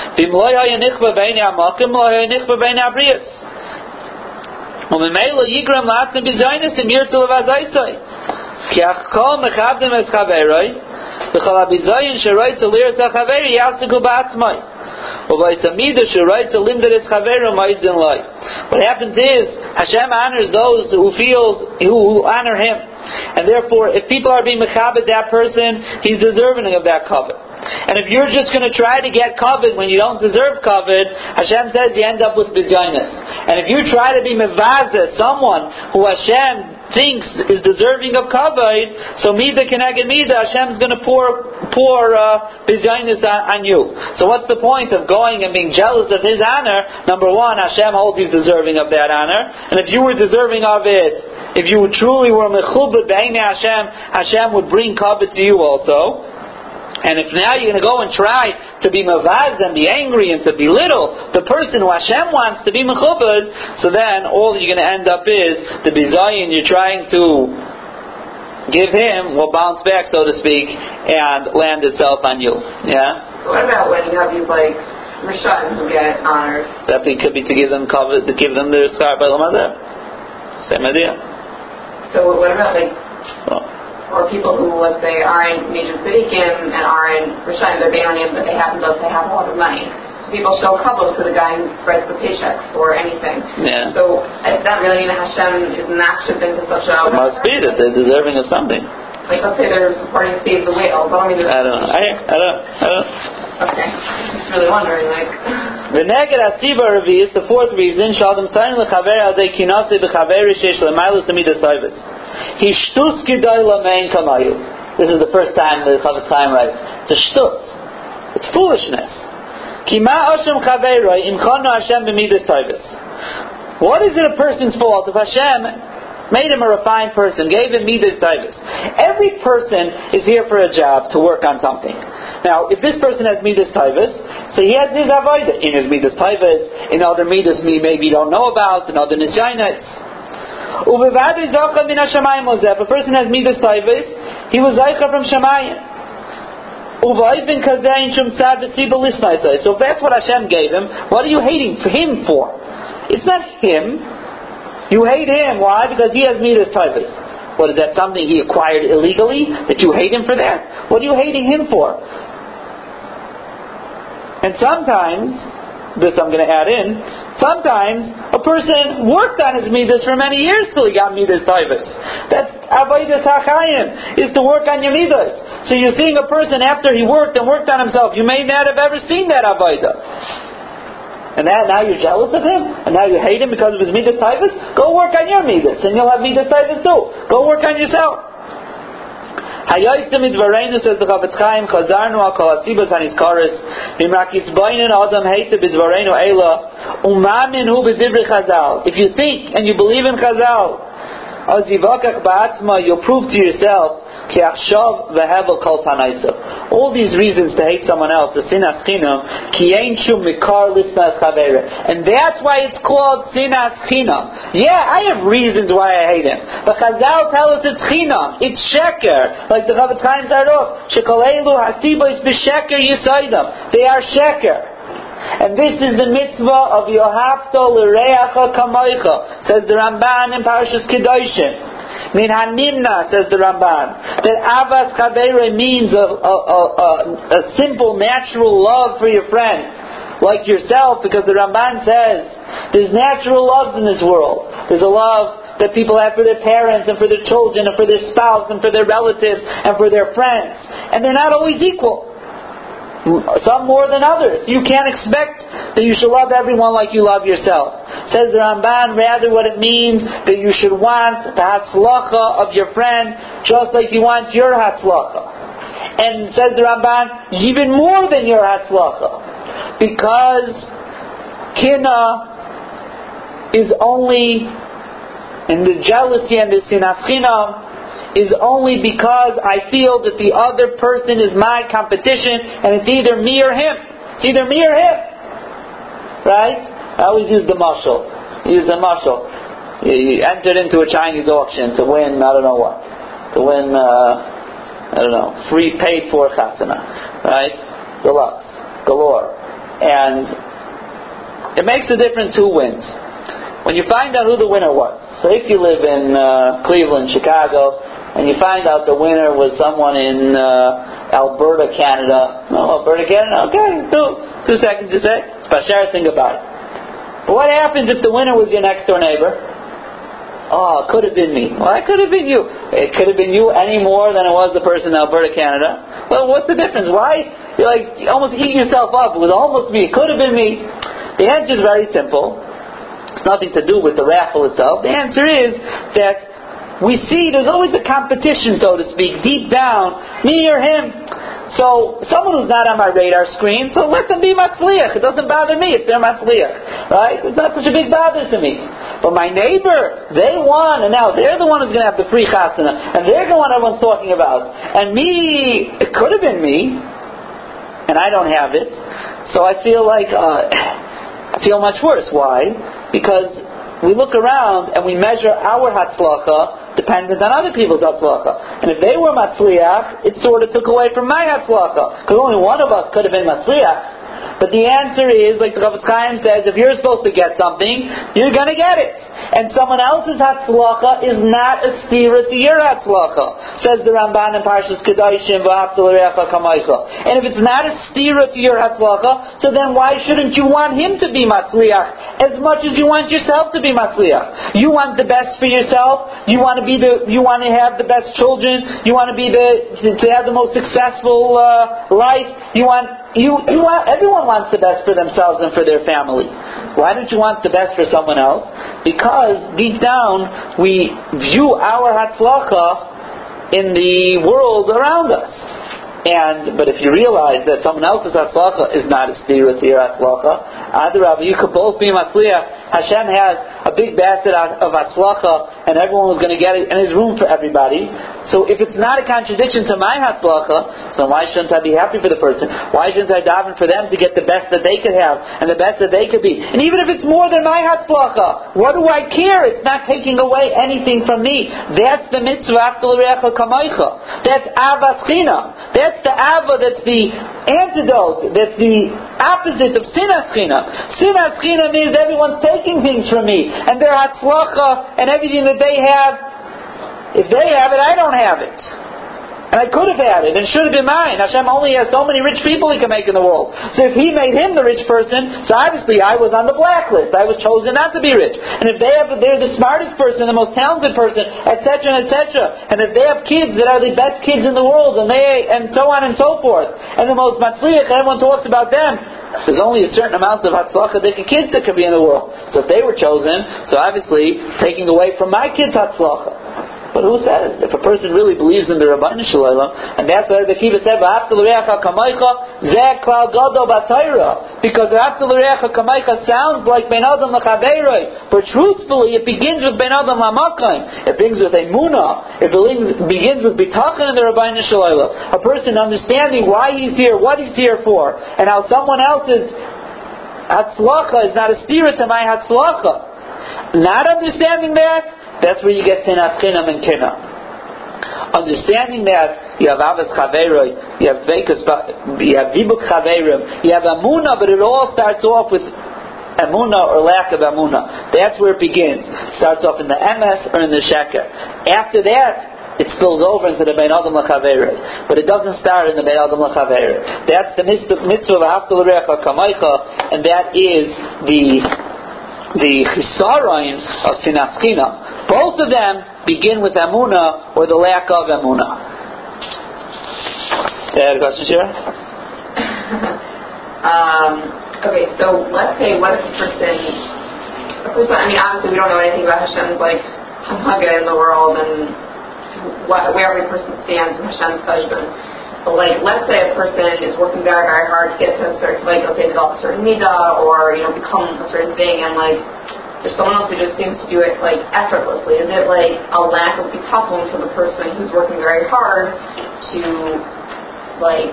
וממילא יגרם לעצם ביזיינס אם ירצו לבזייסוי. כי הכל מכבדם את חברוי, וכל הביזיין שרויצו לירס החברי יעסקו בעצמי. ובייסמידה שרויצו לימדר את חברו מיידן לי. What happens is, Hashem honors those who feel, who honor Him. And therefore, if people are being mechabed that person, he's deserving of that covet. And if you're just going to try to get covet when you don't deserve covet, Hashem says you end up with bizaynus. And if you try to be mevazeh, someone who Hashem thinks is deserving of kavod, so mida keneged mida, Hashem's going to pour pour bizaynus uh, on you. So what's the point of going and being jealous of his honor? Number one, Hashem holds he's deserving of that honor, and if you were deserving of it, if you truly were mechubed b'einei Hashem, Hashem would bring kavod to you also. And if now you're going to go and try to be mavaz and be angry and to belittle the person who Hashem wants to be mechubed, so then all you're going to end up is the bizayin you're trying to give him will bounce back, so to speak, and land itself on you. Yeah. So what about when you have these like Rishon who get honors? That could be to give them cover, to give them their schar by Lamazeh. Same idea. So what about like, well, or people who let's say aren't major tzaddikim and aren't Rishon, they're Beinonim, but they happen to have a lot of money. So people show kavod to the guy who writes the paychecks or anything. Yeah. So does that really mean that Hashem is matched into such a... It must be that they're deserving of something. Like let's say they're supporting Save the Whale, but I mean... I don't know. I, I don't I don't Okay. I'm just really wondering, like... The neged asiba revi is the fourth reason. Shaldem sayin lechaver adei kinasi b'chaveri sheish lemailus amidas toivus. He shtutz gidai lamein kamayu. This is the first time the Chavetz Chaim writes. It's a shtutz. It's foolishness. What is it a person's fault if Hashem made him a refined person, gave him midas taivus? Every person is here for a job to work on something. Now, if this person has midas taivus, so he has his avodah in his midas taivus, in other midas we maybe don't know about, in other nisyainats. If a person has midas taivus, he was zaycha from Shamayim. So if that's what Hashem gave him, what are you hating for him for? It's not him. You hate him. Why? Because he has midas taivus. What, is that something he acquired illegally? That you hate him for that? What are you hating him for? And sometimes, this I'm going to add in, sometimes a person worked on his midas for many years till he got midas taivus. That's avodas hachayim, is to work on your midas. So you're seeing a person after he worked and worked on himself. You may not have ever seen that avodah. And that, now you're jealous of him? And now you hate him because of his midas taivus? Go work on your midas and you'll have midas taivus too. Go work on yourself. Hayotzim idvareinu, says the Chavetz Chaim, chazarnu al kol hasibas hanizkaris, mimrak yisbainin adam heite bidvareinu eila, umamin hu b'divrei Chazal. If you think and you believe in Chazal, az yivakach ba'atzma, you'll prove to yourself, ki achshav v'hevel kol tanaitzav. All these reasons to hate someone else, the sinas chinam, ki ein shum mikar lisnas chavere. And that's why it's called sinas chinam. Yeah, I have reasons why I hate him. But Chazal tell us it's chinam. It's sheker. Like the Chavetz Chaim started off, shekol elu hasibois b'sheker yisaydam. They are sheker. And this is the mitzvah of Yohavto l'reacha kamoicha, says the Ramban in Parashas Kedoshim. Min hanimna, says the Ramban, that avas chavere means a, a, a, a, a simple, natural love for your friend, like yourself, because the Ramban says there's natural loves in this world. There's a love that people have for their parents and for their children and for their spouse and for their relatives and for their friends. And they're not always equal. Some more than others. You can't expect that you should love everyone like you love yourself. Says the Ramban, rather what it means that you should want the hatzlacha of your friend just like you want your hatzlacha. And says the Ramban, even more than your hatzlacha. Because kina is only, and the jealousy and the sinas chinam is only because I feel that the other person is my competition, and it's either me or him. It's either me or him. Right? I always use the mashal. Use the mashal. You entered into a Chinese auction to win, I don't know what. To win, uh, I don't know, free paid for chasana. Right? Deluxe. Galore. And it makes a difference who wins. When you find out who the winner was. So if you live in uh, Cleveland, Chicago, and you find out the winner was someone in uh, Alberta, Canada. Oh, Alberta, Canada? Okay, two, two seconds to say. It's Bashar, think about it. But what happens if the winner was your next door neighbor? Oh, it could have been me. Well, it could have been you. It could have been you any more than it was the person in Alberta, Canada. Well, what's the difference? Why? You like you almost eat yourself up. It was almost me. It could have been me. The answer is very simple. It's nothing to do with the raffle itself. The answer is that we see there's always a competition, so to speak, deep down, me or him. So someone who's not on my radar screen, so let them be matzliach. It doesn't bother me if they're matzliach, right? It's not such a big bother to me. But my neighbor, they won, and now they're the one who's going to have the free chasana, and they're the one everyone's talking about. And me, it could have been me, and I don't have it. So I feel like uh, I feel much worse. Why? Because we look around and we measure our hatzlacha dependent on other people's hatzlacha. And if they were matzliach, it sort of took away from my hatzlacha. Because only one of us could have been matzliach. But the answer is, like the Chofetz Chaim says, if you're supposed to get something, you're going to get it. And someone else's hatzlacha is not a stira to your hatzlacha. Says the Ramban in Parshas Kedoshim, V'ahavta l'reacha kamaycha. And if it's not a stira to your hatzlacha, so then why shouldn't you want him to be matzliach as much as you want yourself to be matzliach? You want the best for yourself. You want to be the. You want to have the best children. You want to be the to have the most successful uh, life. You want. You, you want, everyone wants the best for themselves and for their family. Why don't you want the best for someone else? Because deep down we view our hatzlacha in the world around us. And but if you realize that someone else's hatzlacha is not a stira to your hatzlacha, adarabah, you could both be matzliach. Hashem has a big basket of hatzlacha, and everyone was going to get it, and there's room for everybody. So if it's not a contradiction to my hatzlacha, so why shouldn't I be happy for the person? Why shouldn't I daven for them to get the best that they could have and the best that they could be? And even if it's more than my hatzlacha, what do I care? It's not taking away anything from me. That's the mitzvah V'ahavta l'reacha kamaycha. That's avas chinam. That's That's the ava, that's the antidote, that's the opposite of sinas chinam. Sinas chinam means everyone's taking things from me, and their hatzlacha and everything that they have, if they have it, I don't have it. And I could have had it, and should have been mine. Hashem only has so many rich people He can make in the world. So if He made him the rich person, so obviously I was on the blacklist. I was chosen not to be rich. And if they have, they're the smartest person, the most talented person, et cetera, and et cetera. And if they have kids that are the best kids in the world, and they, and so on and so forth, and the most matzliach, everyone talks about them, there's only a certain amount of hatzlacha that kids that could be in the world. So if they were chosen, so obviously taking away from my kids' hatzlacha. But who said it? If a person really believes in the Rabbeinu Shalom, and that's why the Kiva said, "V'ahavta l'reacha kamaycha," zeh klal gadol b'Torah, because "V'ahavta l'reacha kamaycha" sounds like ben adam l'chaveroi, but truthfully, it begins with ben adam l'makayim. It begins with emunah. It begins with bitachon in the Rabbeinu Shalom. A person understanding why he's here, what he's here for, and how someone else's hatzlacha is not a stira to my hatzlacha. Not understanding that. That's where you get sinas chinam and kina. Understanding that you have avas chaveroi, you have veikas, you have vibuk chaverim, you have amuna, but it all starts off with amuna or lack of amuna. That's where it begins. It starts off in the emes or in the sheker. After that, it spills over into the bein adam l'chaveroi, but it doesn't start in the bein adam l'chaveroi. That's the mitzvah v'ahavta l'reacha kamaycha, and that is the the chisaron of sinas chinam. Both of them begin with amuna or the lack of amuna. You had a question, Shira? um, okay, so let's say what if a person, a person, I mean, obviously we don't know anything about Hashem's like halacha in the world and what, where every person stands in Hashem's judgment. But like, let's say a person is working very, very hard to get to a certain, like, okay, develop a certain midah or, you know, become a certain thing, and like, there's someone else who just seems to do it like effortlessly. Is it like a lack of bitachon for the person who's working very hard to, like,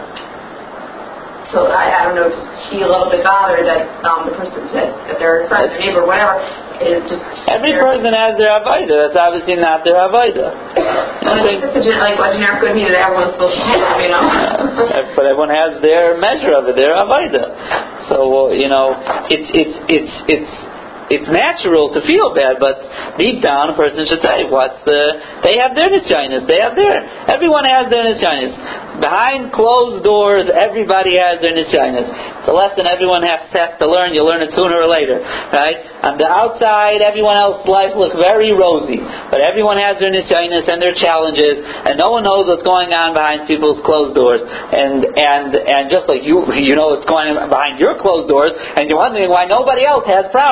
so I, I don't know, just be a little bit bothered that um, the person that, that their friend, their neighbor, whatever, is just... Every person has their avodah. That's obviously not their avodah. Well, it's such a, like, a generic good meaning that everyone's supposed to have, you know? But everyone has their measure of it, their avodah. So, you know, it's, it's, it's, it's, it's natural to feel bad, but deep down a person should say, what's the... They have their nisyanis. They have their... Everyone has their nisyanis. Behind closed doors, everybody has their nisyanis. It's a lesson everyone has, has to learn. You'll learn it sooner or later, right? On the outside, everyone else's life looks very rosy, but everyone has their nisyanis and their challenges, and no one knows what's going on behind people's closed doors. And and and just like you, you know what's going on behind your closed doors, and you're wondering why nobody else has problems.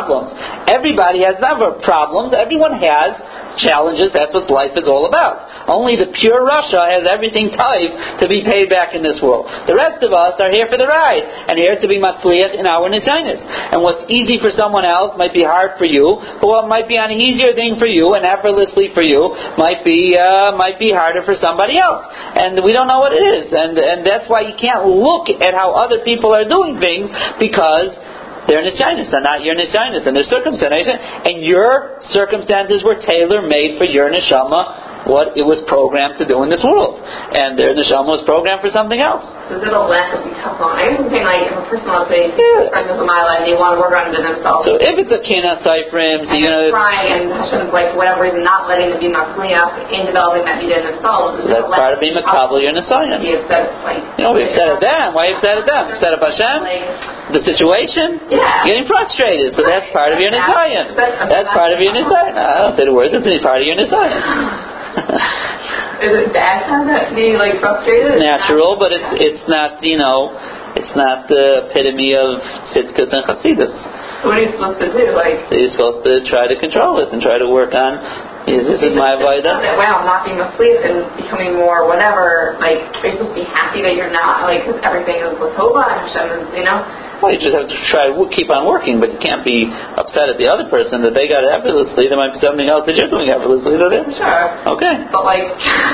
Everybody has never problems. Everyone has challenges. That's what life is all about. Only the pure Russia has everything tied to be paid back in this world. The rest of us are here for the ride and here to be matzliach in our nisyonos. And what's easy for someone else might be hard for you, but what might be an easier thing for you and effortlessly for you might be uh, might be harder for somebody else. And we don't know what it is. And and that's why you can't look at how other people are doing things, because they're nisyonos and not your nisyonos, and their circumstances, and your circumstances were tailor-made for your neshama, what it was programmed to do in this world, and their neshama was programmed for something else. So it'll lack of be tough on. I was saying, like, if a person, let's say, yeah. friends with a mile and they want to work on it themselves. So if it's a kina cyphrim, so and you're going to trying, and Hashem's like, for whatever reason, not letting them be matzliach in developing that vida in themselves. So that's part of being makabel your nisyonos. Be upset, like, you know, we've said at them. Why you upset at them? Upset at Hashem? Like, the situation? Yeah. Getting frustrated. So that's part of your nisyon. That's part of your nisyon. I don't say the words. It's part of your nisyon. Is it bad to have that be like frustrated? Natural, but it's it's not, you know, it's not the epitome of tzidkus and chassidus. What are you supposed to do? Like, so you're supposed to try to control it and try to work on. Is this is my avodah? Wow, I'm not being asleep and becoming more whatever. Like, are you supposed to be happy that you're not? Like, because everything is latova and Hashem is, you know. Well, you just have to try to keep on working, but you can't be upset at the other person that they got it effortlessly. There might be something else that you're doing effortlessly to them. Sure. Okay. But like.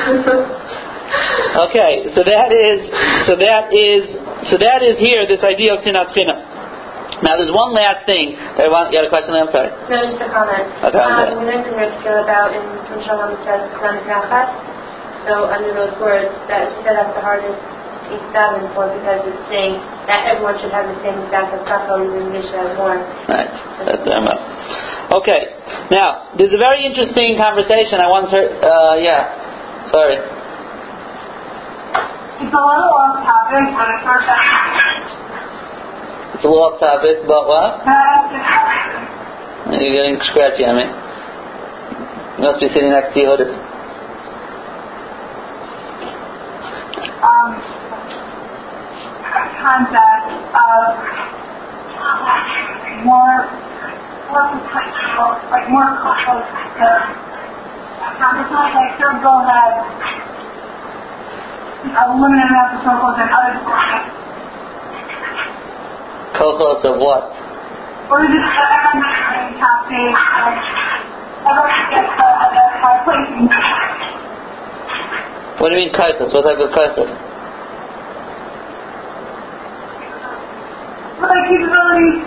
Okay, so that is, so that is, so that is here. This idea of sinat china. Now, there's one last thing that I want. You had a question? I'm sorry. No, just a comment. A comment. Um, we mentioned Rivka about in when Shalom says "Klan Krachat." So under those words, that she said that's the hardest piece davening for, because it's saying that everyone should have the same exact haftacha in Mishnah as one. Right. That's the Rambam. Okay. Now, there's a very interesting conversation I once heard. Uh, yeah. Sorry. It's a little off topic, but it's not that. It's a little off topic, but what? You're getting scratchy on me. You must be sitting next to Yehudis. Um, concept of more, more like more close to consciousness. Like Circle has a limited amount of circles and other circles. Kokos of what? Or is it everyone top page? Everyone gets a place. What do you mean kaitos? What type of kaitos? Like capabilities.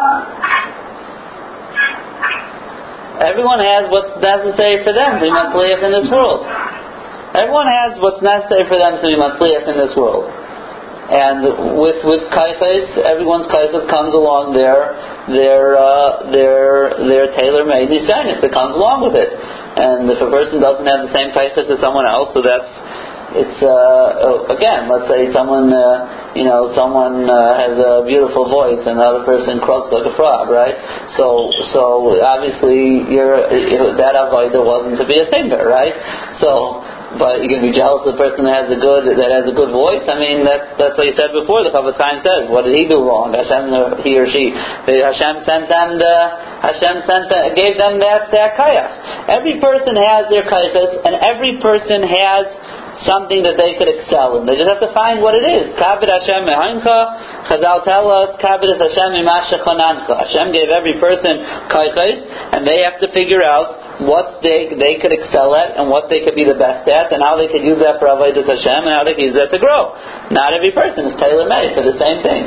Everyone has what's necessary for them to be matzliach in this world. Everyone has what's necessary for them to be matzliach in this world. And with with kaitos, everyone's kaitos comes along their their uh, their their tailor-made nisyonos that comes along with it. And if a person doesn't have the same kaitos as someone else, so that's it's uh, again, let's say someone uh, you know someone uh, has a beautiful voice and the other person croaks like a frog, right? So so obviously you're that avodah wasn't to be a singer, right? So. But you're going to be jealous of the person that has a good that has a good voice. I mean, that's that's what you said before. The Chofetz Chaim says, what did he do wrong? Hashem, he or she, Hashem sent them the Hashem sent the, gave them that that kaya. Every person has their kayas, and every person has something that they could excel in. They just have to find what it is. Kabed Hashem mehaincha. Chazal tell us, Kabed Hashem imashachanancha. Hashem gave every person kayas, and they have to figure out what they they could excel at and what they could be the best at, and how they could use that for avodas Hashem, and how they could use that to grow. Not every person is tailor-made for the same thing.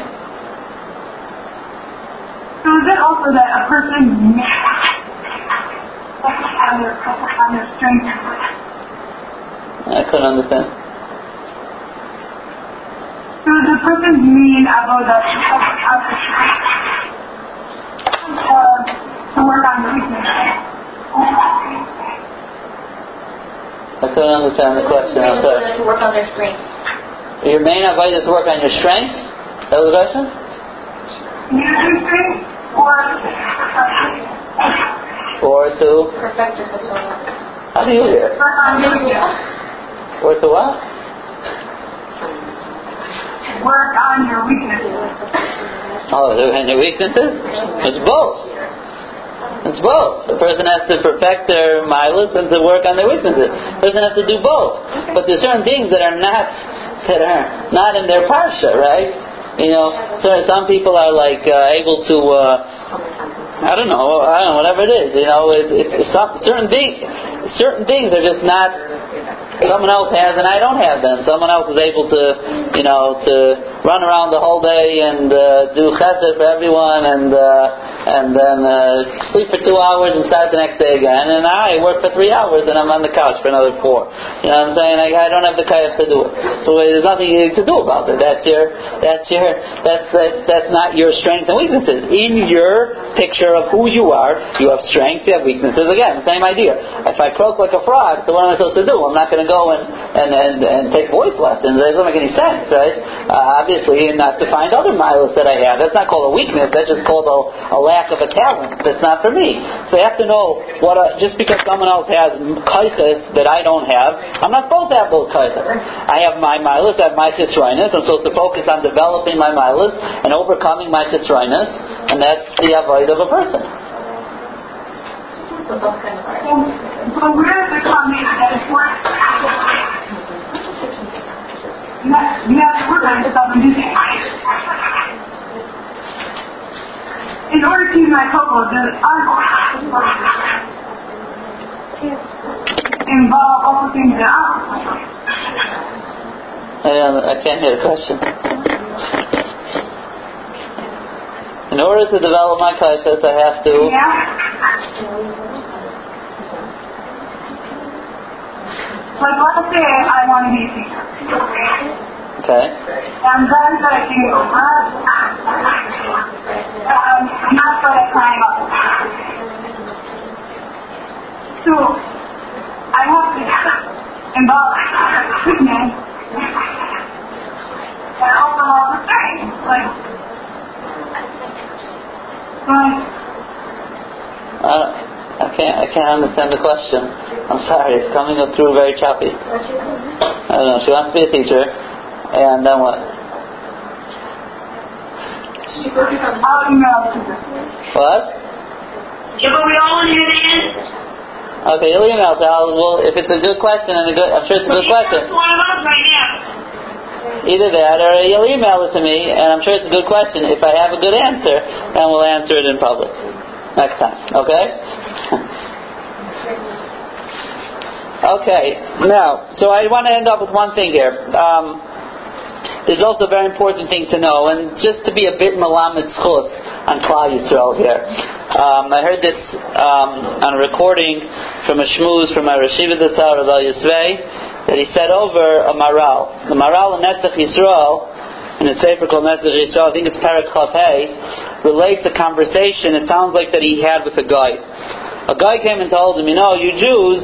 So is it also that a person on their on their strength? I couldn't understand. So is the person's mean avodah to work on the weakness? I couldn't understand the question. I'm sorry. To work on their strength. Your main avodah is to work on your strength? That was the question? Using strength or or to Perfect your haftacha. how do you hear? Or to what? Work on your weaknesses. Oh, and your weaknesses? It's both. It's both. The person has to perfect their milas and to work on their weaknesses. The person has to do both. But there's certain things that are not that are not in their parsha, right? You know, so some people are like uh, able to. Uh, I don't know. I don't know. Whatever it is, you know, it's, it's some, certain things. Certain things are just not. Someone else has and I don't have them. Someone else is able to, you know, to run around the whole day and uh, do chesed for everyone, and uh, and then uh, sleep for two hours and start the next day again. And I work for three hours and I'm on the couch for another four. You know what I'm saying? I, I don't have the kayach to do it. So there's nothing to do about it. That's your, that's your, that's that, that's not your strengths and weaknesses. In your picture of who you are, you have strengths, you have weaknesses. Again, same idea. If I croak like a frog, so what am I supposed to do? I'm not going to go and, and, and, and take voice lessons. That doesn't make any sense, right? Uh, obviously, not to find other milos that I have. That's not called a weakness. That's just called a, a lack of a talent. That's not for me. So I have to know what. A, just because someone else has kaiches that I don't have, I'm not supposed to have those kaiches. I have my milos. I have my chisroinus. I'm supposed to focus on developing my milos and overcoming my chisroinus, and that's the avoid of a person. So, so where's the coming that is work? You have, you have to work on yourself and do things. In order to use my cocoa, the art involve also things that aren't. I, I can't hear the question. In order to develop my kaitas, I have to. Yeah. Like, let's say I want to be a teacher. Okay. And then I do, uh, um, I'm not good at climb up. So, I have to involve treatment and also all the things. Like, like, Uh, I can't. I can't understand the question. I'm sorry. It's coming up through very choppy. I don't know. She wants to be a teacher, and then what? I'll email it to her. What? Yeah, but we all want to hear the answer. Okay, you'll email it. I'll, well, if it's a good question and a good, I'm sure it's a good question. One of us right now. Either that, or you'll email it to me, and I'm sure it's a good question. If I have a good answer, then we'll answer it in public next time. Okay? Okay. Now, so I want to end up with one thing here. Um, there's also a very important thing to know, and just to be a bit malamed schus on Klal Yisrael here. Um, I heard this um, on a recording from a shmooze from a Rashiva Zatzar Rav Yisvei, that he said over a maral. The maral in Netzach Yisrael, in a sefer called Netzach Yisrael, I think it's Perek Chaf Hey, relates a conversation, it sounds like, that he had with a guy. A guy came and told him, you know, you Jews,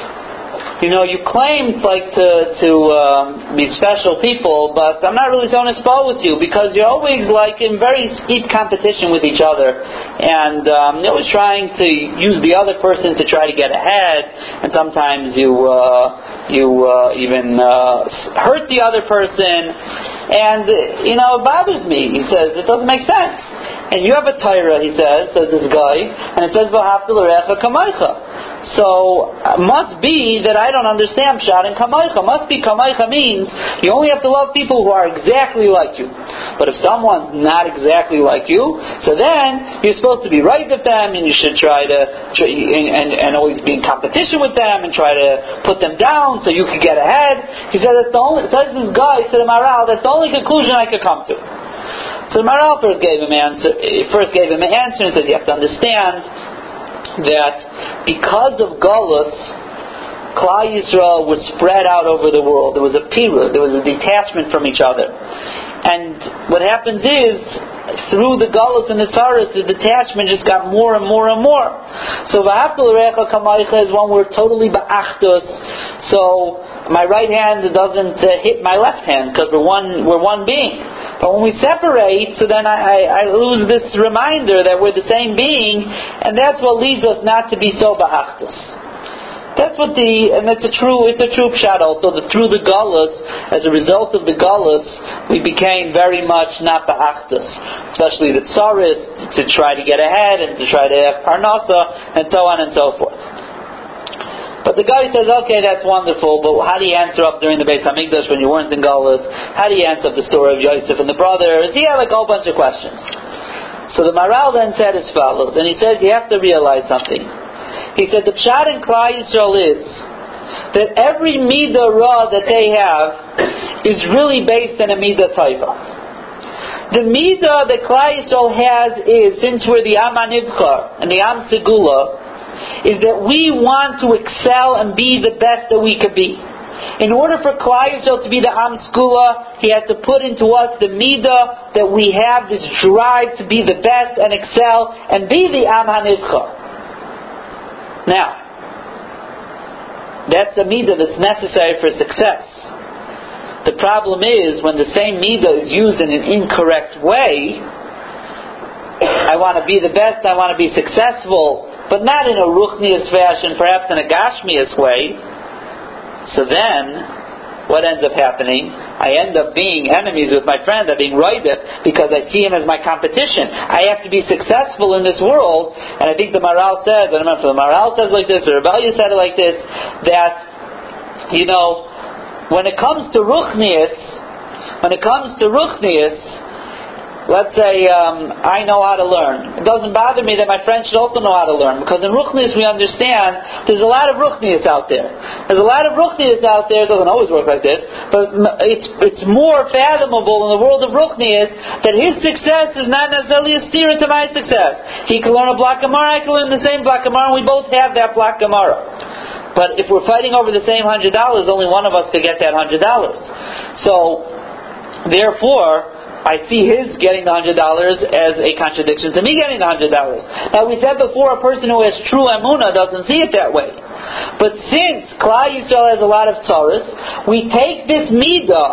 you know, you claim like to to um, be special people, but I'm not really so nispo with you because you're always like in very steep competition with each other, and um, you're always trying to use the other person to try to get ahead, and sometimes you uh, you uh, even uh, hurt the other person, and you know it bothers me. He says it doesn't make sense. And you have a Torah, he says, says this guy, and it says v'ahavta l'recha kamaycha. So uh, must be that I don't understand Pshat and Kamaycha. Must be Kamaycha means you only have to love people who are exactly like you. But if someone's not exactly like you, so then you're supposed to be right with them, and you should try to try, and, and, and always be in competition with them, and try to put them down so you can get ahead. He said that's the only. Says this guy to the Maral, that's the only conclusion I could come to. So the Maral first gave him answer. First gave him an answer and said you have to understand that because of Galus, Klal Yisrael was spread out over the world. There was a pirud, there was a detachment from each other. And what happens is, through the Galus and the Tzaras, the detachment just got more and more and more. So v'ahavta l'recha kamaycha is when we're totally ba'achdus. So my right hand doesn't uh, hit my left hand because we're one, we're one being. But when we separate, so then I, I, I lose this reminder that we're the same being, and that's what leads us not to be so ba'achdus. That's what the, and it's a true, it's a true pshat also, that through the galus, as a result of the galus, we became very much not the achdus, especially the tsaris, to try to get ahead, and to try to have parnasa, and so on and so forth. But the guy says, okay, that's wonderful, but how do you answer up during the Beis Hamikdash when you weren't in galus? How do you answer up the story of Yosef and the brothers? He had like a whole bunch of questions. So the Maral then said as follows, and he says, you have to realize something. He said the pshat in Klal Yisrael is that every midah ra that they have is really based on a midah taiva. The midah that Klal Yisrael has is, since we're the Am HaNivchar and the Am Segula, is that we want to excel and be the best that we could be. In order for Klal Yisrael to be the Am Segula, he has to put into us the midah that we have, this drive to be the best and excel and be the Am HaNivchar. Now, that's a midah that's necessary for success. The problem is, when the same midah is used in an incorrect way, I want to be the best, I want to be successful, but not in a ruchnius fashion, perhaps in a gashmius way. So then, what ends up happening? I end up being enemies with my friend, I'm being roidef, because I see him as my competition. I have to be successful in this world, and I think the Maral says, I don't remember if the Maral says like this, or Rebellia said it like this, that, you know, when it comes to ruchnius, when it comes to ruchnius, let's say um, I know how to learn. It doesn't bother me that my friends should also know how to learn, because in ruchnius we understand there's a lot of ruchnius out there. There's a lot of ruchnius out there. It doesn't always work like this, but it's it's more fathomable in the world of ruchnius that his success is not necessarily a steer to my success. He can learn a block Gemara, I can learn the same block Gemara, and we both have that block Gemara. But if we're fighting over the same hundred dollars, only one of us could get that hundred dollars. So, therefore, I see his getting the hundred dollars as a contradiction to me getting the hundred dollars. Now we said before, a person who has true emunah doesn't see it that way. But since Klal Yisrael has a lot of tzaras, we take this midah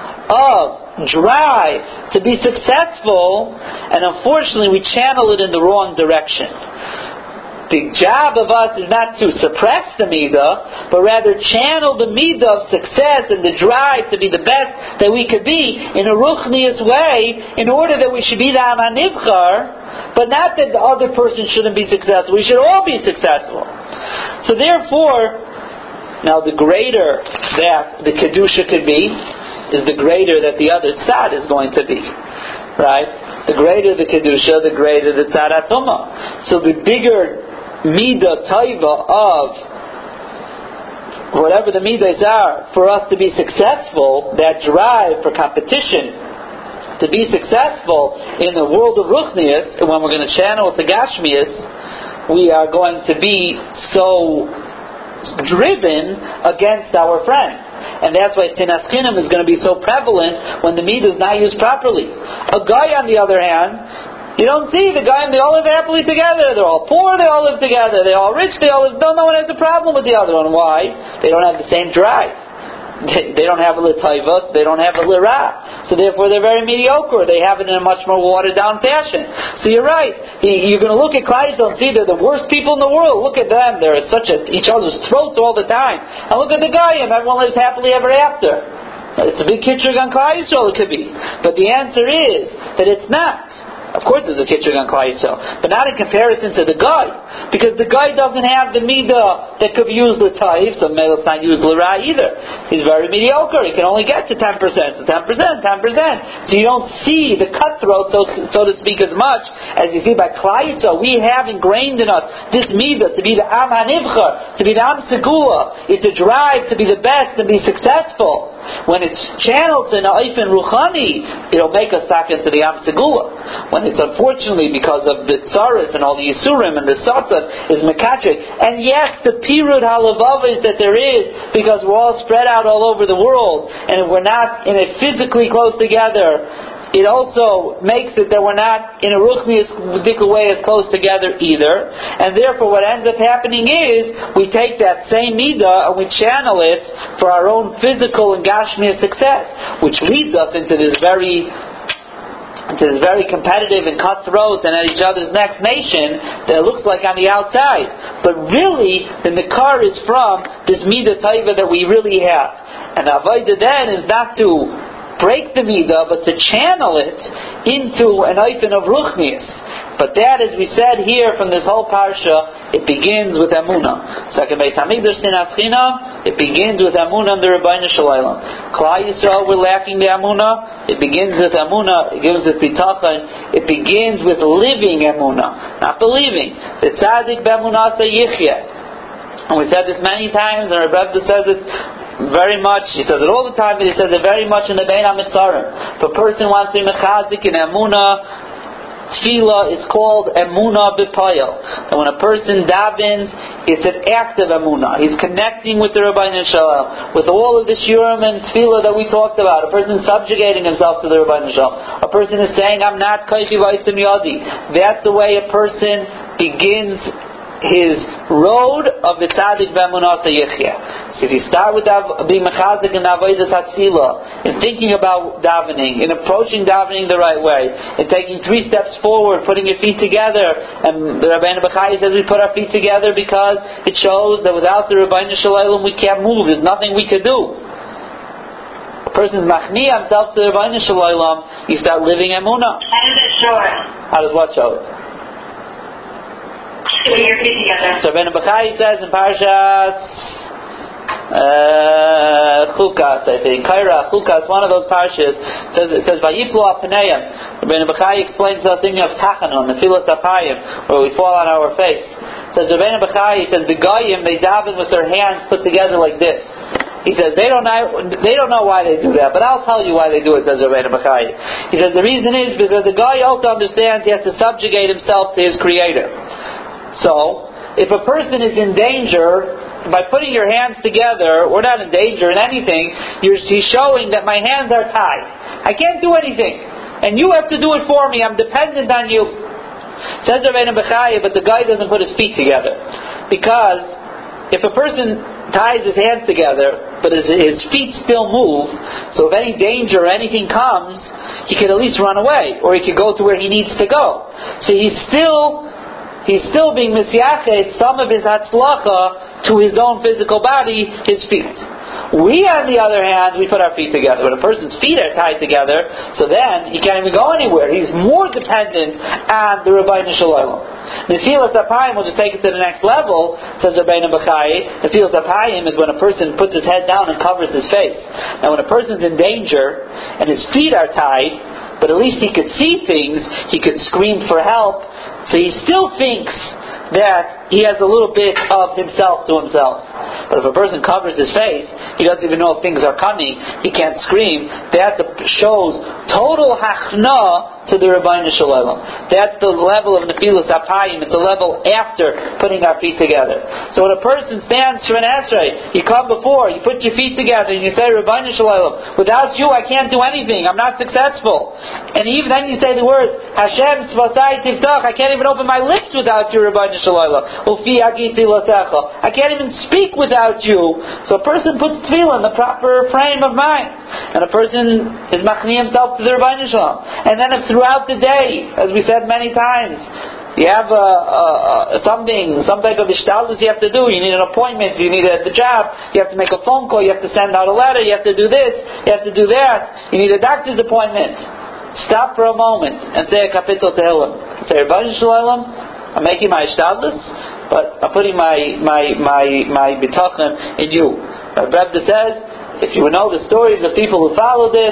of drive to be successful, and unfortunately we channel it in the wrong direction. The job of us is not to suppress the midah, but rather channel the midah of success and the drive to be the best that we could be in a ruchnius way, in order that we should be the Am HaNivchar, but not that the other person shouldn't be successful. We should all be successful. So therefore, now the greater that the kedusha could be, is the greater that the other tzad is going to be. Right? The greater the kedusha, the greater the tzad atumah. So the bigger midah taiva of whatever the midas are for us to be successful, that drive for competition, to be successful in the world of ruchnius, and when we're going to channel to gashmius, we are going to be so driven against our friend. And that's why sinas chinam is going to be so prevalent when the midah is not used properly. A guy, on the other hand, you don't see the guy and they all live happily together. They're all poor, they all live together. They're all rich, they all live. No, no one has a problem with the other one. Why? They don't have the same drive. They, they don't have a l'tayvus, they don't have a l'ra. So therefore they're very mediocre. They have it in a much more watered down fashion. So you're right. You're going to look at Klal Yisrael and see they're the worst people in the world. Look at them. They're such at each other's throats all the time. And look at the guy and everyone lives happily ever after. It's a big kitchug on Klal Yisrael, it could be. But the answer is that it's not. Of course there's a kitchug on Klal Yisrael, but not in comparison to the guy, because the guy doesn't have the midah that could be used l'tayv, so maybe it's not used l'ra either. He's very mediocre. He can only get to ten percent, to ten percent, ten percent. So you don't see the cutthroat, so, so to speak, as much as you see by Klal Yisrael. We have ingrained in us this midah to be the Am HaNivchar, to be the Am Segula. It's a drive to be the best and be successful. When it's channeled in Ha'ifin Ruchani, it'll make us talk into the Am Segula. When it's unfortunately because of the tsaris and all the Yisurim and the Satan is Mekatrik. And yes, the Pirud Halavavis that there is, because we're all spread out all over the world, and if we're not in a physically close together, it also makes it that we're not in a ruchnius way as close together either. And therefore what ends up happening is we take that same midah and we channel it for our own physical and gashmiya success, which leads us into this very into this very competitive and cutthroat and at each other's next nation that it looks like on the outside. But really, the Nikar is from this Midah Taiva that we really have. And the Avodah then is not to break the Midah, but to channel it into an Eifen of Ruchnius. But that, as we said here from this whole Parsha, it begins with Emunah. Second Beis Hamikdash Sinas China, it begins with Emunah and the Rebbeinu Shalom. Klal Yisrael, we're lacking the Emunah. It begins with Emunah. It begins with Bitachon. It begins with living Emunah, not believing. The Tzaddik B'Emunah Yichya. And we said this many times, and Rebbe says it very much. He says it all the time, but he says it very much in the Bein HaMitzarim. If a person wants to be mechazik in Emunah, Tefillah is called Emunah B'Payel. And when a person davens, it's an act of Emunah. He's connecting with the Rebbeinu Shalom, with all of the Shurim and Tefillah that we talked about. A person subjugating himself to the Rebbeinu Shalom. A person is saying, I'm not Kaifi Vaitzim Yadi. That's the way a person begins his road of the Tzaddik B'Emunah Yichya. So if you start with being mechazik in Avodas HaTefillah, in thinking about davening, in approaching davening the right way, in taking three steps forward, putting your feet together, and the Rabbeinu Bechai says we put our feet together because it shows that without the Rebbeinu Shalom we can't move. There's nothing we can do. A person's machni himself to the Rebbeinu Shalom, you start living Emunah. How does it show it? How does what show it? Putting your feet together. So Rabbeinu Bechai says in Parashat uh, Chukas, I think, Kaira, Chukas, one of those parashas, says, it says, Vayiplu Apneim. Rabbeinu Bechai explains the thing of Tachanun, the Filas Apayim, where we fall on our face. Says Rabbeinu Bechai, he says, the Goyim, they daven with their hands put together like this. He says, they don't know, they don't know why they do that, but I'll tell you why they do it, says Rabbeinu Bechai. He says, the reason is because the guy also understands he has to subjugate himself to his Creator. So, if a person is in danger, by putting your hands together, we're not in danger in anything, you're, he's showing that my hands are tied. I can't do anything. And you have to do it for me. I'm dependent on you. Says Rabbeinu Bechai, but the guy doesn't put his feet together. Because if a person ties his hands together, but his, his feet still move, so if any danger or anything comes, he could at least run away, or he could go to where he needs to go. So he's still He's still being misyachet some of his hatzlacha to his own physical body, his feet. We, on the other hand, we put our feet together. When a person's feet are tied together, so then he can't even go anywhere. He's more dependent on the Rebbeinu Shalom. Nefilas Apayim, we'll just take it to the next level, says Rabbeinu Bechai. Nefilas Apayim is when a person puts his head down and covers his face. Now when a person's in danger and his feet are tied, but at least he could see things, he could scream for help, so he still thinks that he has a little bit of himself to himself. But if a person covers his face, he doesn't even know if things are coming, he can't scream. That shows total hachna to the Rebbeinu Shalom. That's the level of Nefilas Apayim. It's the level after putting our feet together. So when a person stands for an Esrei, you come before, you put your feet together, and you say, Rebbeinu Shalom, without you I can't do anything, I'm not successful. And even then you say the words, Hashem Svasai Tiftach, I can't even open my lips without you, Rebbeinu Shalom. Ufi Agiti Latecha, I can't even speak without you. So a person puts tefillah in the proper frame of mind. And a person is machni himself to the Rebbeinu Shalom. And then if throughout the day, as we said many times, you have a, a, a, something, some type of ishtalus you have to do. You need an appointment, you need a, the job, you have to make a phone call, you have to send out a letter, you have to do this, you have to do that, you need a doctor's appointment. Stop for a moment and say a kapitel tehillim. Say, Rebbeinu Shalom, I'm making my ishtalus, but I'm putting my my my my bitachon in you. Rabbi Rebbe says, if you would know the stories of people who follow this,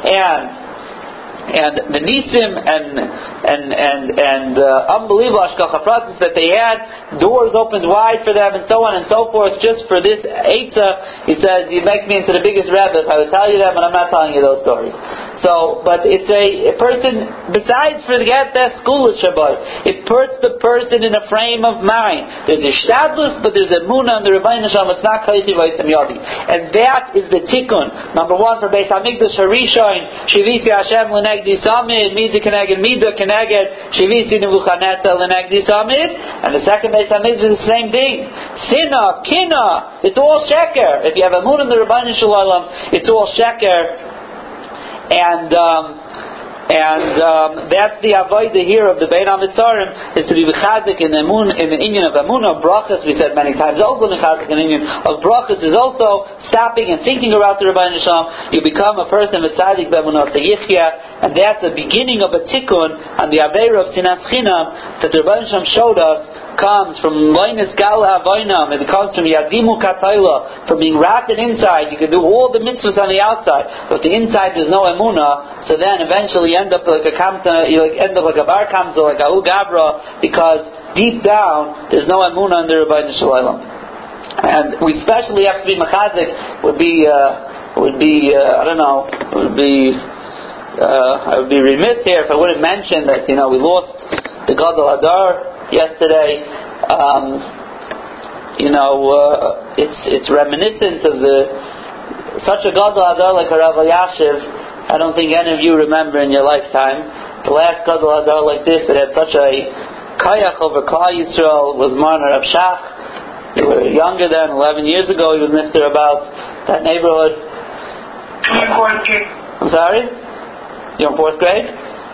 and and the nisim and and and and uh, unbelievable hashgacha pratis that they had, doors opened wide for them, and so on and so forth. Just for this eitzah, he says, you make me into the biggest rebbe if I would tell you them, and I'm not telling you those stories. So, but it's a, a person, besides forget that school is Shabbat, it puts the person in a frame of mind. There's a shtadlus, but there's a munah on the Rebbeinu Shalom, it's not kaichi v'yitzim yadi. And that is the tikkun. Number one, for Beis HaMikdash Harishon, Shivisi Hashem l'negdi samid, Mida keneged, Mida keneged, Shivisi Nebuchadnezzar l'negdi samid. And the second Beis HaMikdash is the same thing. Sinah, kinah, it's all sheker. If you have a munah in the Rebbeinu Shalom, it's all sheker. And um, And um, that's the avodah here of the Bein HaMitzarim, is to be mechazik in the emun, in the inyan of emunah, brachas. We said many times. Also mechazik in the inyan of brachas is also stopping and thinking about the Rebbeinu Shalom. You become a person with tzadik b'emunah seyichya, and that's the beginning of a tikkun on the aveira of sinas chinam that the Rebbeinu Shalom showed us. Comes from loinus gal havoinam. It comes from yadimu katayla, from being wrapped inside. You can do all the mitzvahs on the outside, but the inside there's no emunah. So then eventually you end up like a kamta, you end up like a bar kamza, like a ugabra, because deep down there's no emunah in the Rebbeinu Shalom. And we especially have to be mechazik. Would be uh, would be uh, I don't know. Would be uh, I would be remiss here if I wouldn't mention that you know we lost the Gadol Hadar yesterday. Um, you know, uh, it's it's reminiscent of the such a Gadol Hadar like a Rav Elyashiv. I don't think any of you remember in your lifetime the last Gadol Hadar like this that had such a kayach over Klal Yisrael was Marner Rav Shach. You were younger than eleven years ago. He was nifter about that neighborhood. I'm in fourth grade. I'm sorry? You're in fourth grade?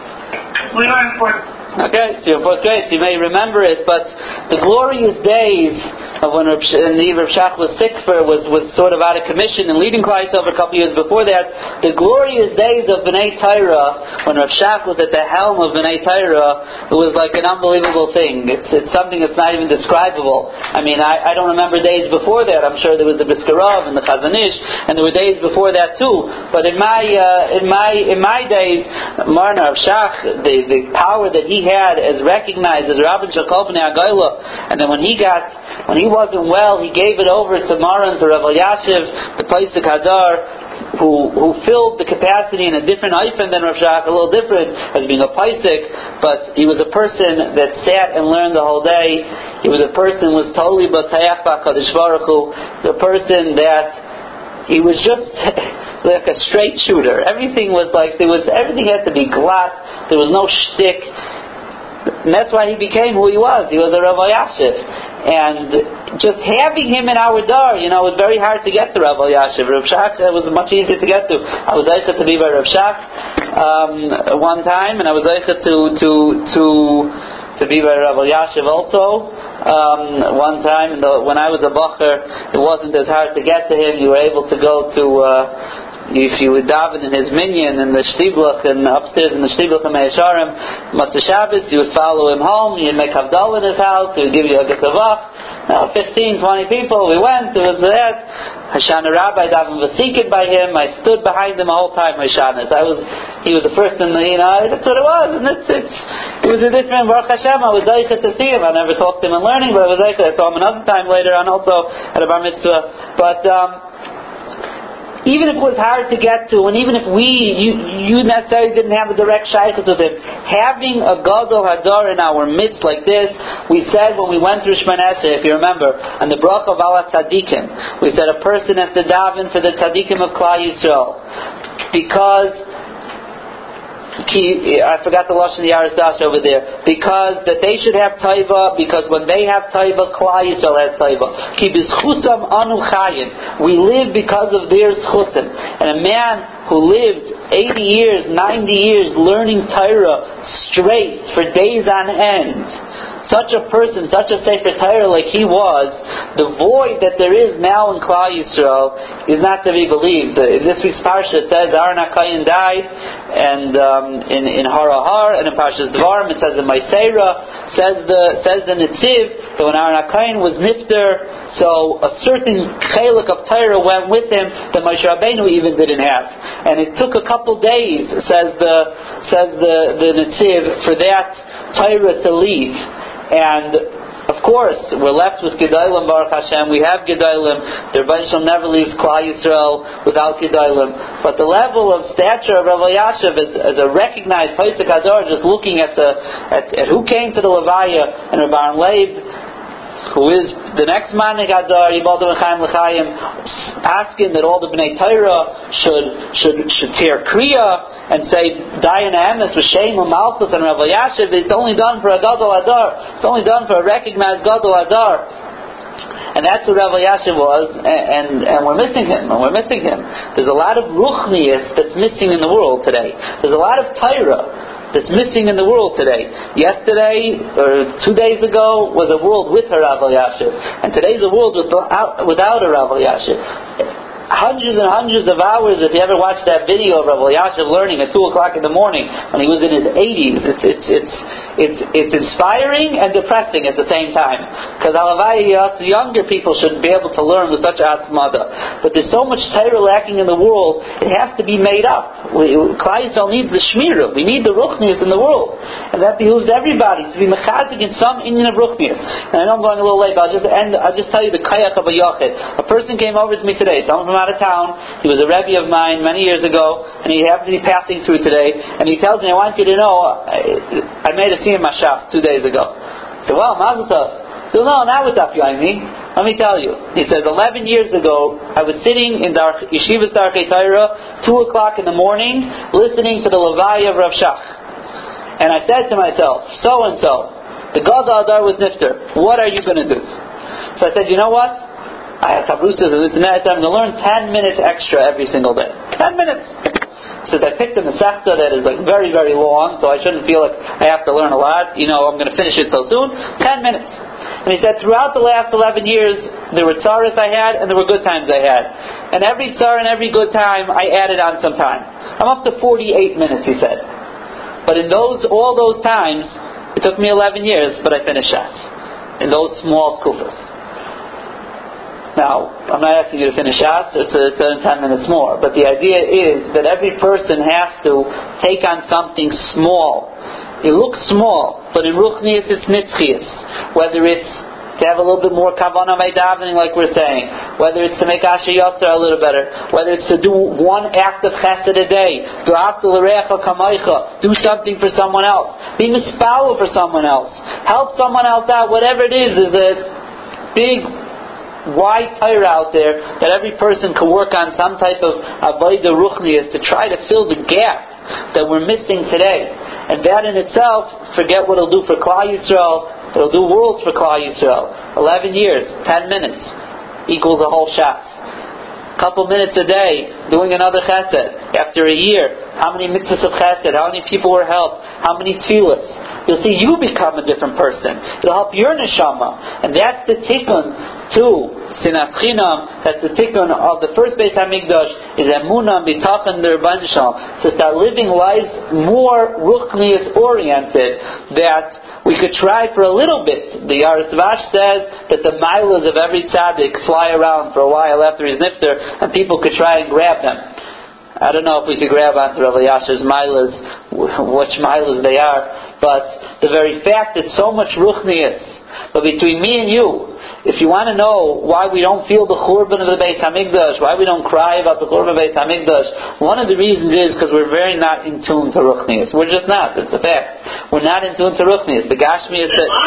We were in fourth. Okay, so you're in fourth grade, so you may remember it, but the glorious days of when Rav Shach was sick for, was, was sort of out of commission and leading Klal Yisrael a couple years before that, the glorious days of B'nai Torah, when Rav Shach was at the helm of B'nai Torah, it was like an unbelievable thing. It's, it's something that's not even describable. I mean, I, I don't remember days before that. I'm sure there was the Biskarov and the Chazon Ish, and there were days before that too. But in my uh, in my in my days, Marna Rav Shach, the, the power that he had as recognized as Rabbi Shakol B'nai Agayla, and then when he got when he wasn't well, he gave it over to Maran, to Rav Elyashiv, the Paisik Hadar, who who filled the capacity in a different hyphen than Rav Shach, a little different as being a Paisik, but he was a person that sat and learned the whole day. He was a person who was totally B'Tayach B'Kadosh Baruch Hu. He was a person that he was just like a straight shooter. Everything was like there was everything had to be glatt. There was no shtick, and that's why he became who he was. He was a Rav Elyashiv, and just having him in our dar, you know, it was very hard to get to Rav Elyashiv. Rav Shach it was much easier to get to. I was able to be by Rav Shach um, one time, and I was able to to to. to be by Rav Elyashiv also. Um, one time, the, when I was a bacher, it wasn't as hard to get to him. You were able to go to, uh, if you would daven in his minyan, in the shtiblach, and upstairs in the shtiblach of Me'esharim, Matzah Shabbos, you would follow him home, you'd make Havdalah in his house, he would give you a Getavach. Now, fifteen, twenty people, we went, it was that. Hashana Rabbi, daven vasikin by him, I stood behind him the whole time, Hashanas. I was, he was the first in the, you know, that's what it was, and it's, it's, it was a different, Baruch Hashem, I was daicha to see him, I never talked to him in learning, but I was daicha, I saw him another time later on also at a bar mitzvah, but, um, even if it was hard to get to, and even if we, you, you necessarily didn't have a direct shaykhus with him, having a Gadol Hadar in our midst like this, we said when we went through Shemon Esrei, if you remember, on the Bracha of Ala Tzadikim, we said a person has to daven for the Tzadikim of Klal Yisrael, because I forgot the lashon of the Yaris Dash over there. Because that they should have taiva, because when they have taiva, Klal Yisrael has taiva. Ki b'schusam anu chayim. We live because of their schusim. And a man who lived eighty years, ninety years learning Torah straight for days on end, such a person, such a Sefer Torah like he was, the void that there is now in Klal Yisrael is not to be believed. In this week's parsha it says Aaron HaKohen died, and um, in in Harahar and in Parshas Dvarim it says in Ma'asera, says the says the Netziv that when Aaron HaKohen was nifter, so a certain chelik of Torah went with him that Moshe Rabbeinu even didn't have, and it took a couple days, says the says the the Netziv, for that Torah to leave. And of course, we're left with Gedolim, Baruch Hashem. We have Gedolim. The Rebbeinu Shalom never leaves Klal Yisrael without Gedolim. But the level of stature of Rav Elyashiv as, as a recognized Paisik Hadar, just looking at the at, at who came to the Levaya, and Rav Aaron Leib, who is the next Manik Hadar, Yibaldim L'chaim L'chaim, asking that all the Bnei Torah should should should tear Kriya and say Dayan Emes V'Shem U'Malchus and Rav Elyashiv. It's only done for a Gadol Hadar. It's only done for a recognized Gadol Hadar. And that's what Rav Elyashiv was, and, and, and we're missing him, and we're missing him. There's a lot of ruchnius that's missing in the world today. There's a lot of Torah that's missing in the world today. Yesterday, or two days ago, was a world with a Rav Elyashiv, and today's a world without, without a Rav Elyashiv. Hundreds and hundreds of hours. If you ever watched that video of Rav Elyashiv learning at two o'clock in the morning when he was in his eighties, it's it's it's it's it's inspiring and depressing at the same time. Because Alavai, us younger people should be able to learn with such asmada. But there's so much Torah lacking in the world; it has to be made up. Klal Yisrael needs the shmirah. We need the ruchnius in the world, and that behooves everybody to be mechazik in some inyan of ruchnius. And I know I'm going a little late, but I'll just end. I'll just tell you the kayach of a yochid. A person came over to me today. Someone from out of town. He was a Rebbe of mine many years ago, and he happened to be passing through today. And he tells me, "I want you to know, I, I made a siyum mashaf two days ago." I said, "Well, mazel tov." So no, not with Daf Yomi. Let me tell you. He says, eleven years ago, I was sitting in Dar- Yeshiva's Darkei Torah, two o'clock in the morning, listening to the Levaya of Rav Shach. And I said to myself, so and so, the Gadol Adar was nifter. What are you going to do? So I said, you know what? I have kabrusas and this and that. I'm going to learn ten minutes extra every single day. Ten minutes. So I picked a Masechta that is like very, very long, so I shouldn't feel like I have to learn a lot. You know, I'm going to finish it so soon. Ten minutes. And he said, throughout the last eleven years, there were tzaras I had and there were good times I had. And every tzar and every good time, I added on some time. I'm up to forty-eight minutes, he said. But in those, all those times, it took me eleven years, but I finished Shas. In those small skufas. Now, I'm not asking you to finish Shas, it's, it's ten minutes more, but the idea is that every person has to take on something small. It looks small, but in Ruchnius it's Nitzchias. Whether it's to have a little bit more kavanah by davening, like we're saying, whether it's to make Asher Yotzar a little better, whether it's to do one act of chesed a day, do something for someone else, be mispalo for someone else, help someone else out, whatever it is, is a big wide Torah out there that every person can work on some type of avodah ruchnius to try to fill the gap that we're missing today. And that in itself, forget what it'll do for Klal Yisrael, it'll do worlds for Klal Yisrael. Eleven years, ten minutes equals a whole Shas. Couple minutes a day doing another chesed. After a year, how many mitzvahs of chesed? How many people were helped? How many tefillas? You'll see you become a different person. It'll help your neshama, and that's the tikkun to Sinas Chinam. That's the tikkun of the first Beis Hamikdash is emunah bitachon d'Rabbanan Shalom, to start living lives more ruchnius oriented. That we could try for a little bit. The Aris Vash says that the milas of every tzaddik fly around for a while after his nifter, and people could try and grab them. I don't know if we could grab onto Rav Elyashiv's milas, which milas they are, but the very fact that so much ruchnius. But between me and you, if you want to know why we don't feel the churban of the Beis Hamikdash, why we don't cry about the churban of the Beis Hamikdash, one of the reasons is because we're very not in tune to ruchnius. We're just not. It's a fact. We're not in tune to ruchnius. The Gashmi is that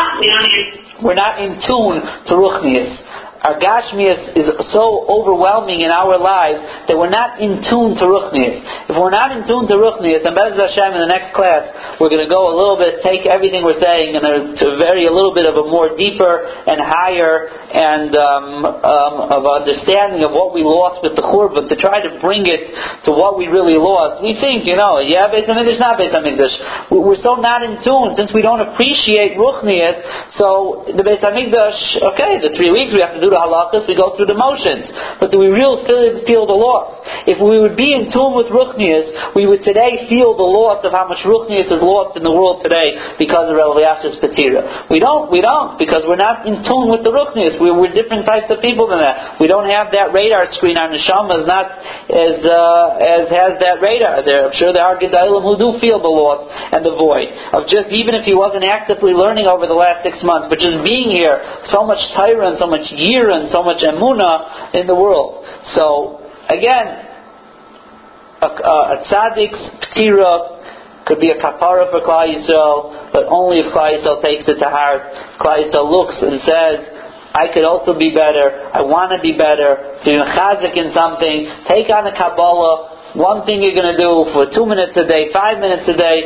we're not in tune to ruchnius. Our Gashmias is so overwhelming in our lives that we're not in tune to Ruchnius. If we're not in tune to Ruchnius, and Be'ez Hashem in the next class, we're going to go a little bit, take everything we're saying, and to vary a little bit of a more deeper and higher and um, um, of understanding of what we lost with the Churban, to try to bring it to what we really lost. We think, you know, yeah, Beis Hamikdash, not Beis Hamikdash. We're so not in tune, since we don't appreciate Ruchnius, so the Beis Hamikdash, okay, the three weeks we have to do the halachas, we go through the motions. But do we really feel, feel the loss? If we would be in tune with Ruchnius, we would today feel the loss of how much Ruchnius is lost in the world today because of Rav Elyashiv's Petira. We don't, we don't, because we're not in tune with the Ruchnius. We're, we're different types of people than that. We don't have that radar screen. Our neshama is not as, uh, as has that radar there. I'm sure there are Gedalim who do feel the loss and the void of just, even if he wasn't actively learning over the last six months, but just being here, so much Torah and so much year and so much emunah in the world. So again, a, a, a tzaddik's ptira could be a kapara for Klal Yisrael, but only if Klal Yisrael takes it to heart. Klal Yisrael looks and says, I could also be better, I want to be better, to be mechazik in something, take on the Kabbalah, one thing you're going to do for two minutes a day, five minutes a day,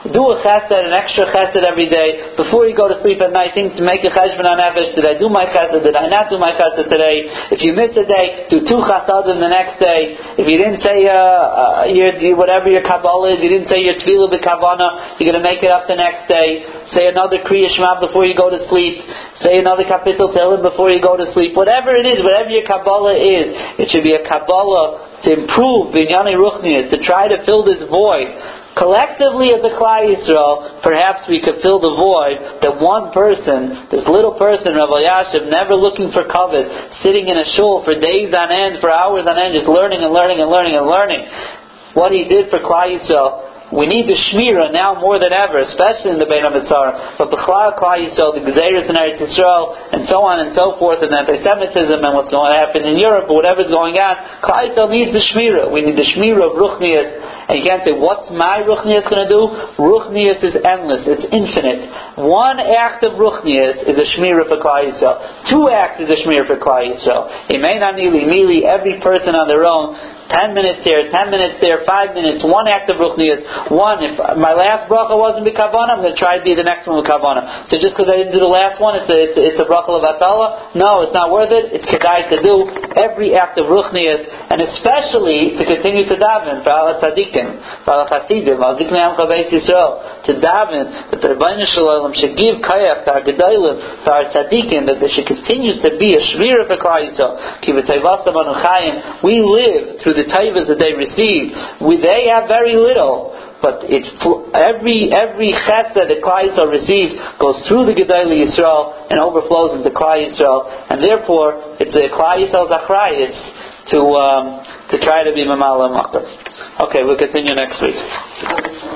do a chesed, an extra chesed every day. Before you go to sleep at night, think to make a cheshbon on nefesh. Did I do my chesed? Did I not do my chesed today? If you miss a day, do two chasadim the next day. If you didn't say uh, uh, your, whatever your Kabbalah is, you didn't say your tefillah b'kavana, you're going to make it up the next day. Say another Kriya Shema before you go to sleep. Say another Kapitel Tehillim before you go to sleep. Whatever it is, whatever your Kabbalah is, it should be a Kabbalah to improve Binyani Ruchnias, to try to fill this void. Collectively as a Klal Yisrael, perhaps we could fill the void that one person, this little person, Rav Elyashiv, never looking for kavod, sitting in a shul for days on end, for hours on end, just learning and learning and learning and learning. What he did for Klal Yisrael. We need the Shmira now more than ever, especially in the Bein HaMitzar. But B'chlal Klal Yisrael, the Gezeirus in Eretz Yisrael, and so on and so forth, and anti-Semitism and what's going to happen in Europe, or whatever's going on, Klal Yisrael needs the Shmira. We need the Shmira of Ruchnias. And you can't say, what's my Ruchnias going to do? Ruchnias is endless. It's infinite. One act of Ruchnias is a Shmira for Klal Yisrael. Two acts is a Shmira for Klal Yisrael. Imein Anili, Mili, every person on their own, ten minutes here, ten minutes there, five minutes, one act of Ruchnias. One, if my last bracha wasn't b'kavana, I'm going to try to be the next one with kavana. So just because I didn't do the last one, it's a, it's a, it's a bracha of atala? No, it's not worth it. It's kedai to do every act of Ruchnias, and especially to continue to daven for ala tzadikim, for ala chasidim, ala diknei amcha beis Yisrael, to daven that the Rebbeinu Shalom should give kayach to our gedolim, to our tzadikim, that they should continue to be a shmira for Klal Yisrael. Ki v'tayvasam anu chayim. We live through the taivas that they receive. We, they have very little, but it, every every chesed that Klal Yisrael receives goes through the Gedolei Yisrael and overflows into Klal Yisrael, and therefore it's a Klal Yisrael's achrayus to um, to try to be Mamala Makar. Okay, we'll continue next week.